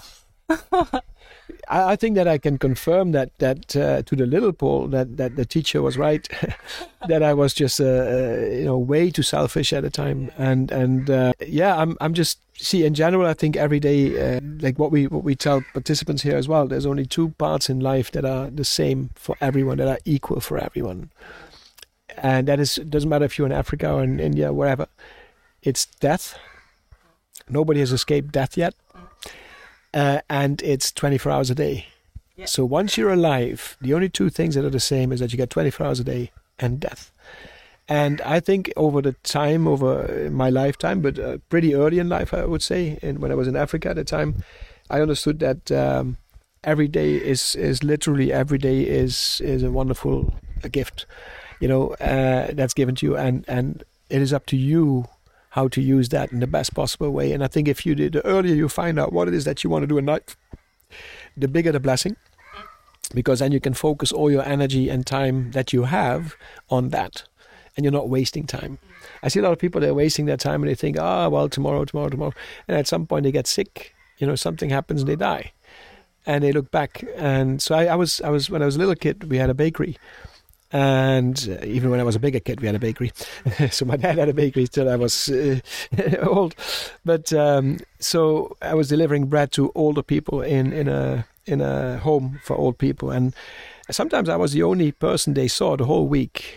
I, I think that I can confirm that that uh, to the little Paul that, that the teacher was right, that I was just uh, uh, you know way too selfish at the time, and and uh, yeah, I'm I'm just see in general I think every day uh, like what we what we tell participants here as well. There's only two parts in life that are the same for everyone, that are equal for everyone, and that is, it doesn't matter if you're in Africa or in India, wherever. It's death. Nobody has escaped death yet. Uh, and it's twenty-four hours a day. Yeah. So once you're alive, the only two things that are the same is that you get twenty-four hours a day and death. And I think over the time, over my lifetime, but uh, pretty early in life, I would say, and when I was in Africa at the time, I understood that um, every day is is literally every day is is a wonderful a gift, you know, uh, that's given to you, and and it is up to you how to use that in the best possible way. And I think if you did, the earlier you find out what it is that you want to do in life, the bigger the blessing, because then you can focus all your energy and time that you have on that, and you're not wasting time. I see a lot of people, they're wasting their time and they think, ah, oh, well, tomorrow, tomorrow, tomorrow. And at some point they get sick, you know, something happens and they die. And they look back. And so I, I was, I was, when I was a little kid, we had a bakery. And uh, even when I was a bigger kid, we had a bakery. So my dad had a bakery till I was uh, old. But um, so I was delivering bread to older people in, in a in a home for old people. And sometimes I was the only person they saw the whole week.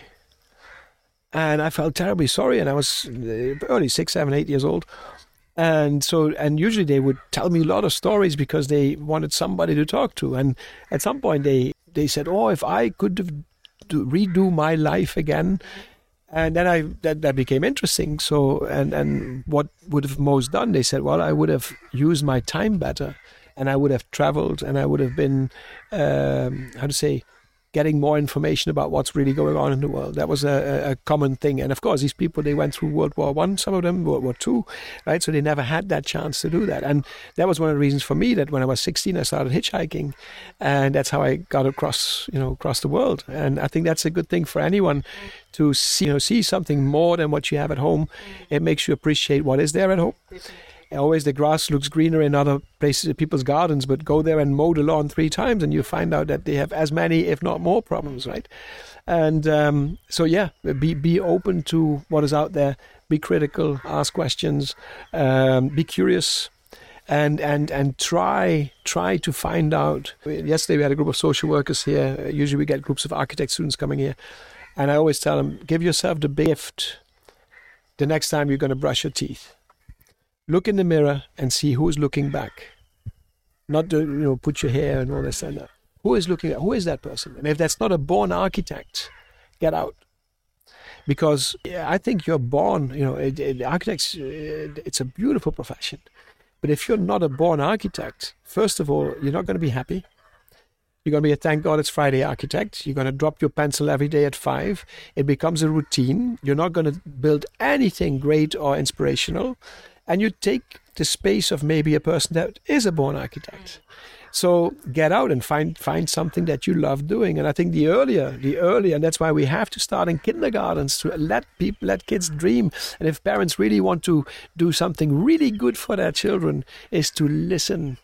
And I felt terribly sorry. And I was early six, seven, eight years old. And so, and usually they would tell me a lot of stories because they wanted somebody to talk to. And at some point they, they said, oh, if I could have to redo my life again, and then I that, that became interesting. So and and what would have most done? They said, well, I would have used my time better, and I would have traveled, and I would have been um, how to say, getting more information about what's really going on in the world. That was a, a common thing. And of course, these people, they went through World War One, some of them World War Two, right? So they never had that chance to do that. And that was one of the reasons for me that when I was sixteen, I started hitchhiking, and that's how I got across, you know, across the world. And I think that's a good thing for anyone to see, you know, see something more than what you have at home. It makes you appreciate what is there at home. Always the grass looks greener in other places, people's gardens, but go there and mow the lawn three times and you find out that they have as many, if not more, problems, right? And um, so, yeah, be be open to what is out there, be critical, ask questions, um, be curious, and and and try try to find out. Yesterday we had a group of social workers here. Usually we get groups of architect students coming here, and I always tell them, give yourself the gift the next time you're going to brush your teeth. Look in the mirror and see who is looking back. Not to, you know, put your hair and all this and that. Who is looking at, who is that person? And if that's not a born architect, get out. Because yeah, I think you're born, you know, it, it, architects, it, it's a beautiful profession. But if you're not a born architect, first of all, you're not going to be happy. You're going to be a thank God it's Friday architect. You're going to drop your pencil every day at five. It becomes a routine. You're not going to build anything great or inspirational. And you take the space of maybe a person that is a born architect. So get out and find find something that you love doing. And I think the earlier, the earlier, and that's why we have to start in kindergartens to let people, let kids dream. And if parents really want to do something really good for their children, is to listen.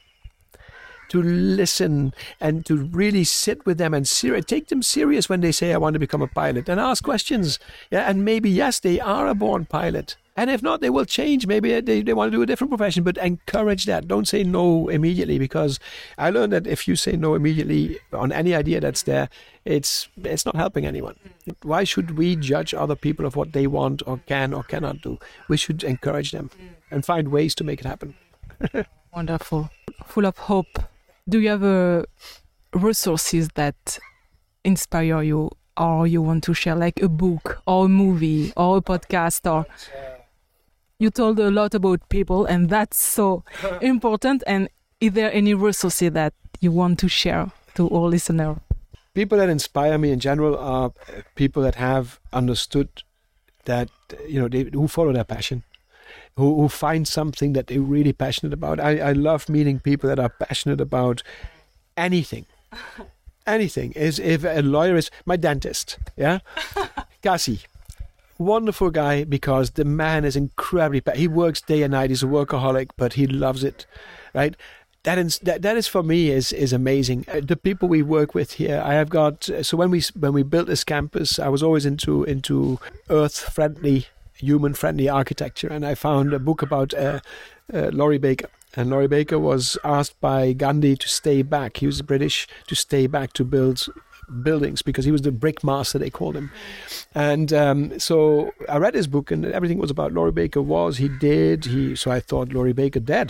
To listen and to really sit with them and ser- take them serious when they say, I want to become a pilot, and ask questions. Yeah, and maybe, yes, they are a born pilot. And if not, they will change. Maybe they, they want to do a different profession, but encourage that. Don't say no immediately, because I learned that if you say no immediately on any idea that's there, it's it's not helping anyone. Why should we judge other people of what they want or can or cannot do? We should encourage them and find ways to make it happen. Wonderful. Full of hope. Do you have a resources that inspire you or you want to share, like a book or a movie or a podcast? Or you told a lot about people, and that's so important. And is there any resources that you want to share to all listeners? People that inspire me in general are people that have understood that, you know, they, who follow their passion, who, who find something that they're really passionate about. I, I love meeting people that are passionate about anything. Anything. Is if a lawyer is my dentist, yeah, Gassi, wonderful guy, because the man is incredibly. He works day and night. He's a workaholic, but he loves it, right? That is that, that is for me is is amazing. Uh, the people we work with here, I have got. So when we when we built this campus, I was always into into earth friendly, human friendly architecture, and I found a book about uh, uh, Laurie Baker. And Laurie Baker was asked by Gandhi to stay back. He was British, to stay back to build buildings because he was the brick master, they called him. And um, so I read his book, and everything was about Laurie Baker. Was he did he? So I thought Laurie Baker dead.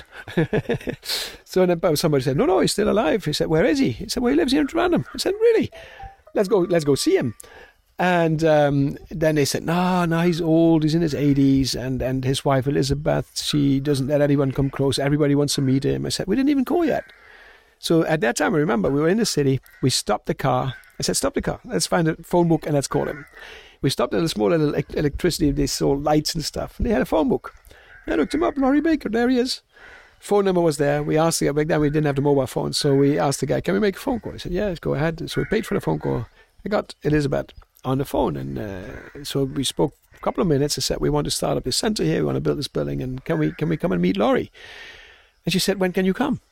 So then somebody said, "No, no, he's still alive." He said, "Where is he?" He said, "Well, he lives here in Trondheim." I said, "Really? Let's go. Let's go see him." And um, then they said, no, no, he's old, he's in his eighties, and, and his wife Elizabeth, she doesn't let anyone come close, everybody wants to meet him. I said, we didn't even call yet. So at that time, I remember, we were in the city, we stopped the car, I said, stop the car, let's find a phone book and let's call him. We stopped at a small little electricity, they sold lights and stuff, and they had a phone book. I looked him up, Laurie Baker, there he is. Phone number was there. We asked the guy, back then we didn't have the mobile phone, so we asked the guy, can we make a phone call? He said, yeah, go ahead. So we paid for the phone call. I got Elizabeth on the phone, and uh, so we spoke a couple of minutes. I said, we want to start up this center here, we want to build this building, and can we can we come and meet Laurie? And she said, when can you come?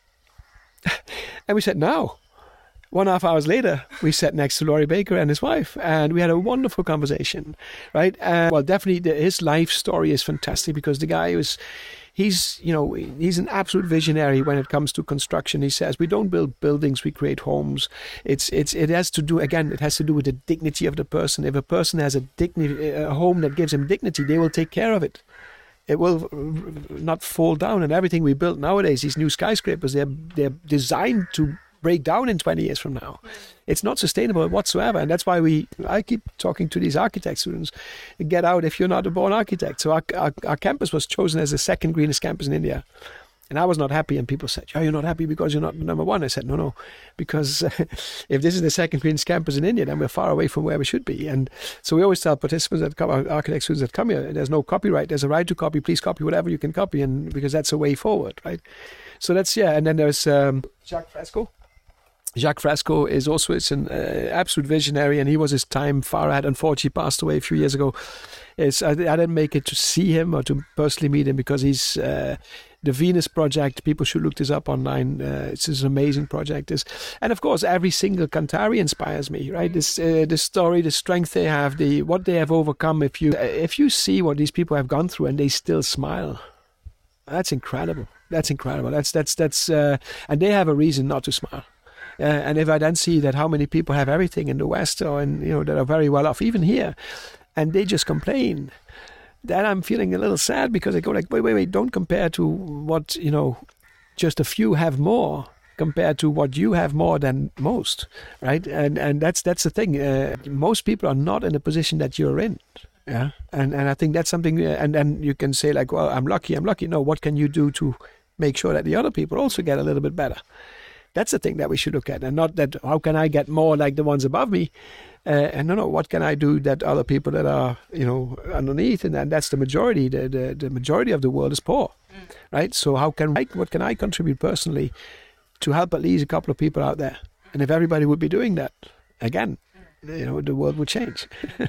And we said, now. One and a half hours later, we sat next to Laurie Baker and his wife, and we had a wonderful conversation, right? And well, definitely the, his life story is fantastic, because the guy was, he's, you know, he's an absolute visionary when it comes to construction. He says, we don't build buildings, we create homes. It's, it's, it has to do, again, it has to do with the dignity of the person. If a person has a dignity, a home that gives him dignity, they will take care of it. It will not fall down. And everything we build nowadays, these new skyscrapers, they're, they're designed to break down in twenty years from now. It's not sustainable whatsoever, and that's why we I keep talking to these architect students, get out if you're not a born architect. So our, our, our campus was chosen as the second greenest campus in India, and I was not happy, and people said, oh, you're not happy because you're not number one. I said, no, no, because uh, if this is the second greenest campus in India, then we're far away from where we should be. And so we always tell participants that come, architect students that come here, there's no copyright, there's a right to copy, please copy whatever you can copy, and because that's a way forward, right? So that's, yeah, and then there's um, Jacques Fresco. Jacques Fresco is also it's an uh, absolute visionary, and he was his time far ahead. Unfortunately, he passed away a few years ago. It's, I, I didn't make it to see him or to personally meet him, because he's uh, the Venus project. People should look this up online. Uh, it's an amazing project. It's, and of course, every single Cantari inspires me. Right, this uh, the story, the strength they have, the what they have overcome. If you uh, if you see what these people have gone through and they still smile, that's incredible. That's incredible. That's that's that's uh, and they have a reason not to smile. Uh, and if I then see that how many people have everything in the West, or in, you know, that are very well off, even here, and they just complain, then I'm feeling a little sad, because I go like, wait, wait, wait, don't compare to what, you know, just a few have more compared to what you have more than most, right? And and that's that's the thing. Uh, most people are not in the position that you're in. Yeah, and and I think that's something. Uh, and then you can say like, well, I'm lucky, I'm lucky. No, what can you do to make sure that the other people also get a little bit better? That's the thing that we should look at, and not that how can I get more like the ones above me, uh, and no, no, what can I do that other people that are, you know, underneath, and, and that's the majority. The, the the majority of the world is poor, mm. right? So how can I, what can I contribute personally to help at least a couple of people out there? And if everybody would be doing that, again, you know, the world would change.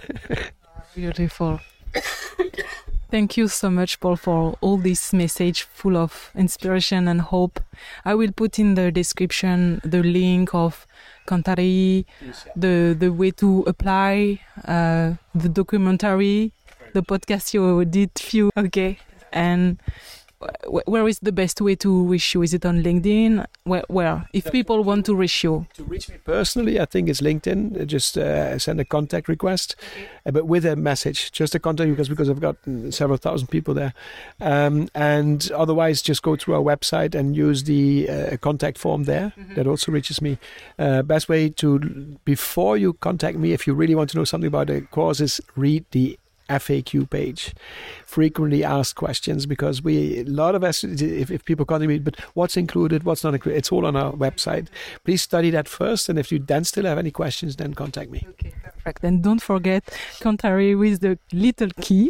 Beautiful. Thank you so much, Paul, for all this message full of inspiration and hope. I will put in the description the link of Cantari, the the way to apply, uh, the documentary, the podcast you did few. Okay, and wh- where is the best way to reach you? Is it on LinkedIn? Where, where? If people want to reach you? To reach me personally, I think it's LinkedIn. Just uh, send a contact request, uh, but with a message. Just a contact request because I've got several thousand people there. Um, and otherwise, just go through our website and use the uh, contact form there. Mm-hmm. That also reaches me. Uh, best way to, before you contact me, if you really want to know something about the course, is read the F A Q page, frequently asked questions, because we a lot of us, if, if people contact me, but what's included, what's not included, it's all on our website. Please study that first, and if you then still have any questions, then contact me. Okay, perfect. And don't forget Cantare with the little key.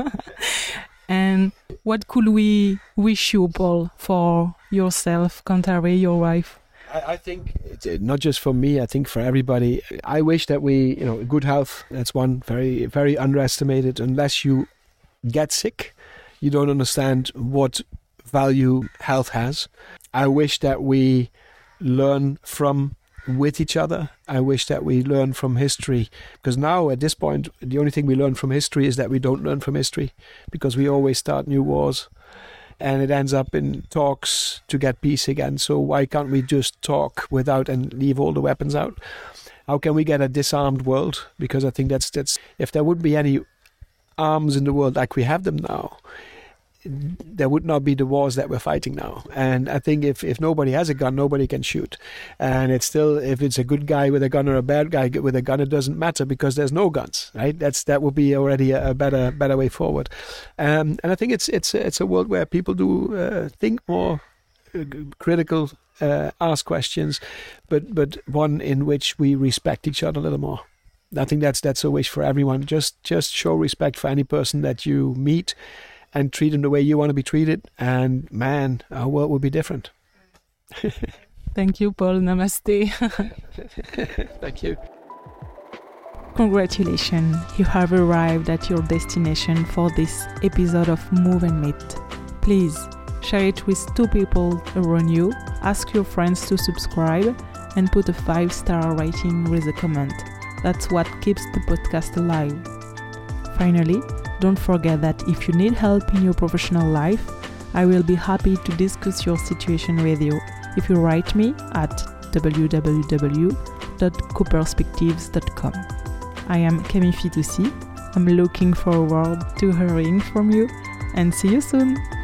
And what could we wish you, Paul, for yourself, Cantare, your wife? I think it's not just for me, I think for everybody. I wish that we, you know, good health, that's one, very, very underestimated. Unless you get sick, you don't understand what value health has. I wish that we learn from with each other. I wish that we learn from history, because now at this point, the only thing we learn from history is that we don't learn from history, because we always start new wars. And it ends up in talks to get peace again. So why can't we just talk without and leave all the weapons out? How can we get a disarmed world? Because I think that's that's if there wouldn't be any arms in the world like we have them now, there would not be the wars that we're fighting now. And I think if, if nobody has a gun, nobody can shoot. And it's still, if it's a good guy with a gun or a bad guy with a gun, it doesn't matter, because there's no guns, right? That's that would be already a, a better better way forward. Um, and I think it's it's it's a world where people do uh, think more, uh, critical, uh, ask questions, but but one in which we respect each other a little more. I think that's that's a wish for everyone. Just just show respect for any person that you meet, and treat them the way you want to be treated, and man, our world will be different. Thank you, Paul. Namaste. Thank you. Congratulations, you have arrived at your destination for this episode of Move and Meet. Please share it with two people around you, ask your friends to subscribe, and put a five-star rating with a comment. That's what keeps the podcast alive. Finally, don't forget that if you need help in your professional life, I will be happy to discuss your situation with you if you write me at w w w dot co perspectives dot com. I am Camille Fitoussi. I'm looking forward to hearing from you, and see you soon!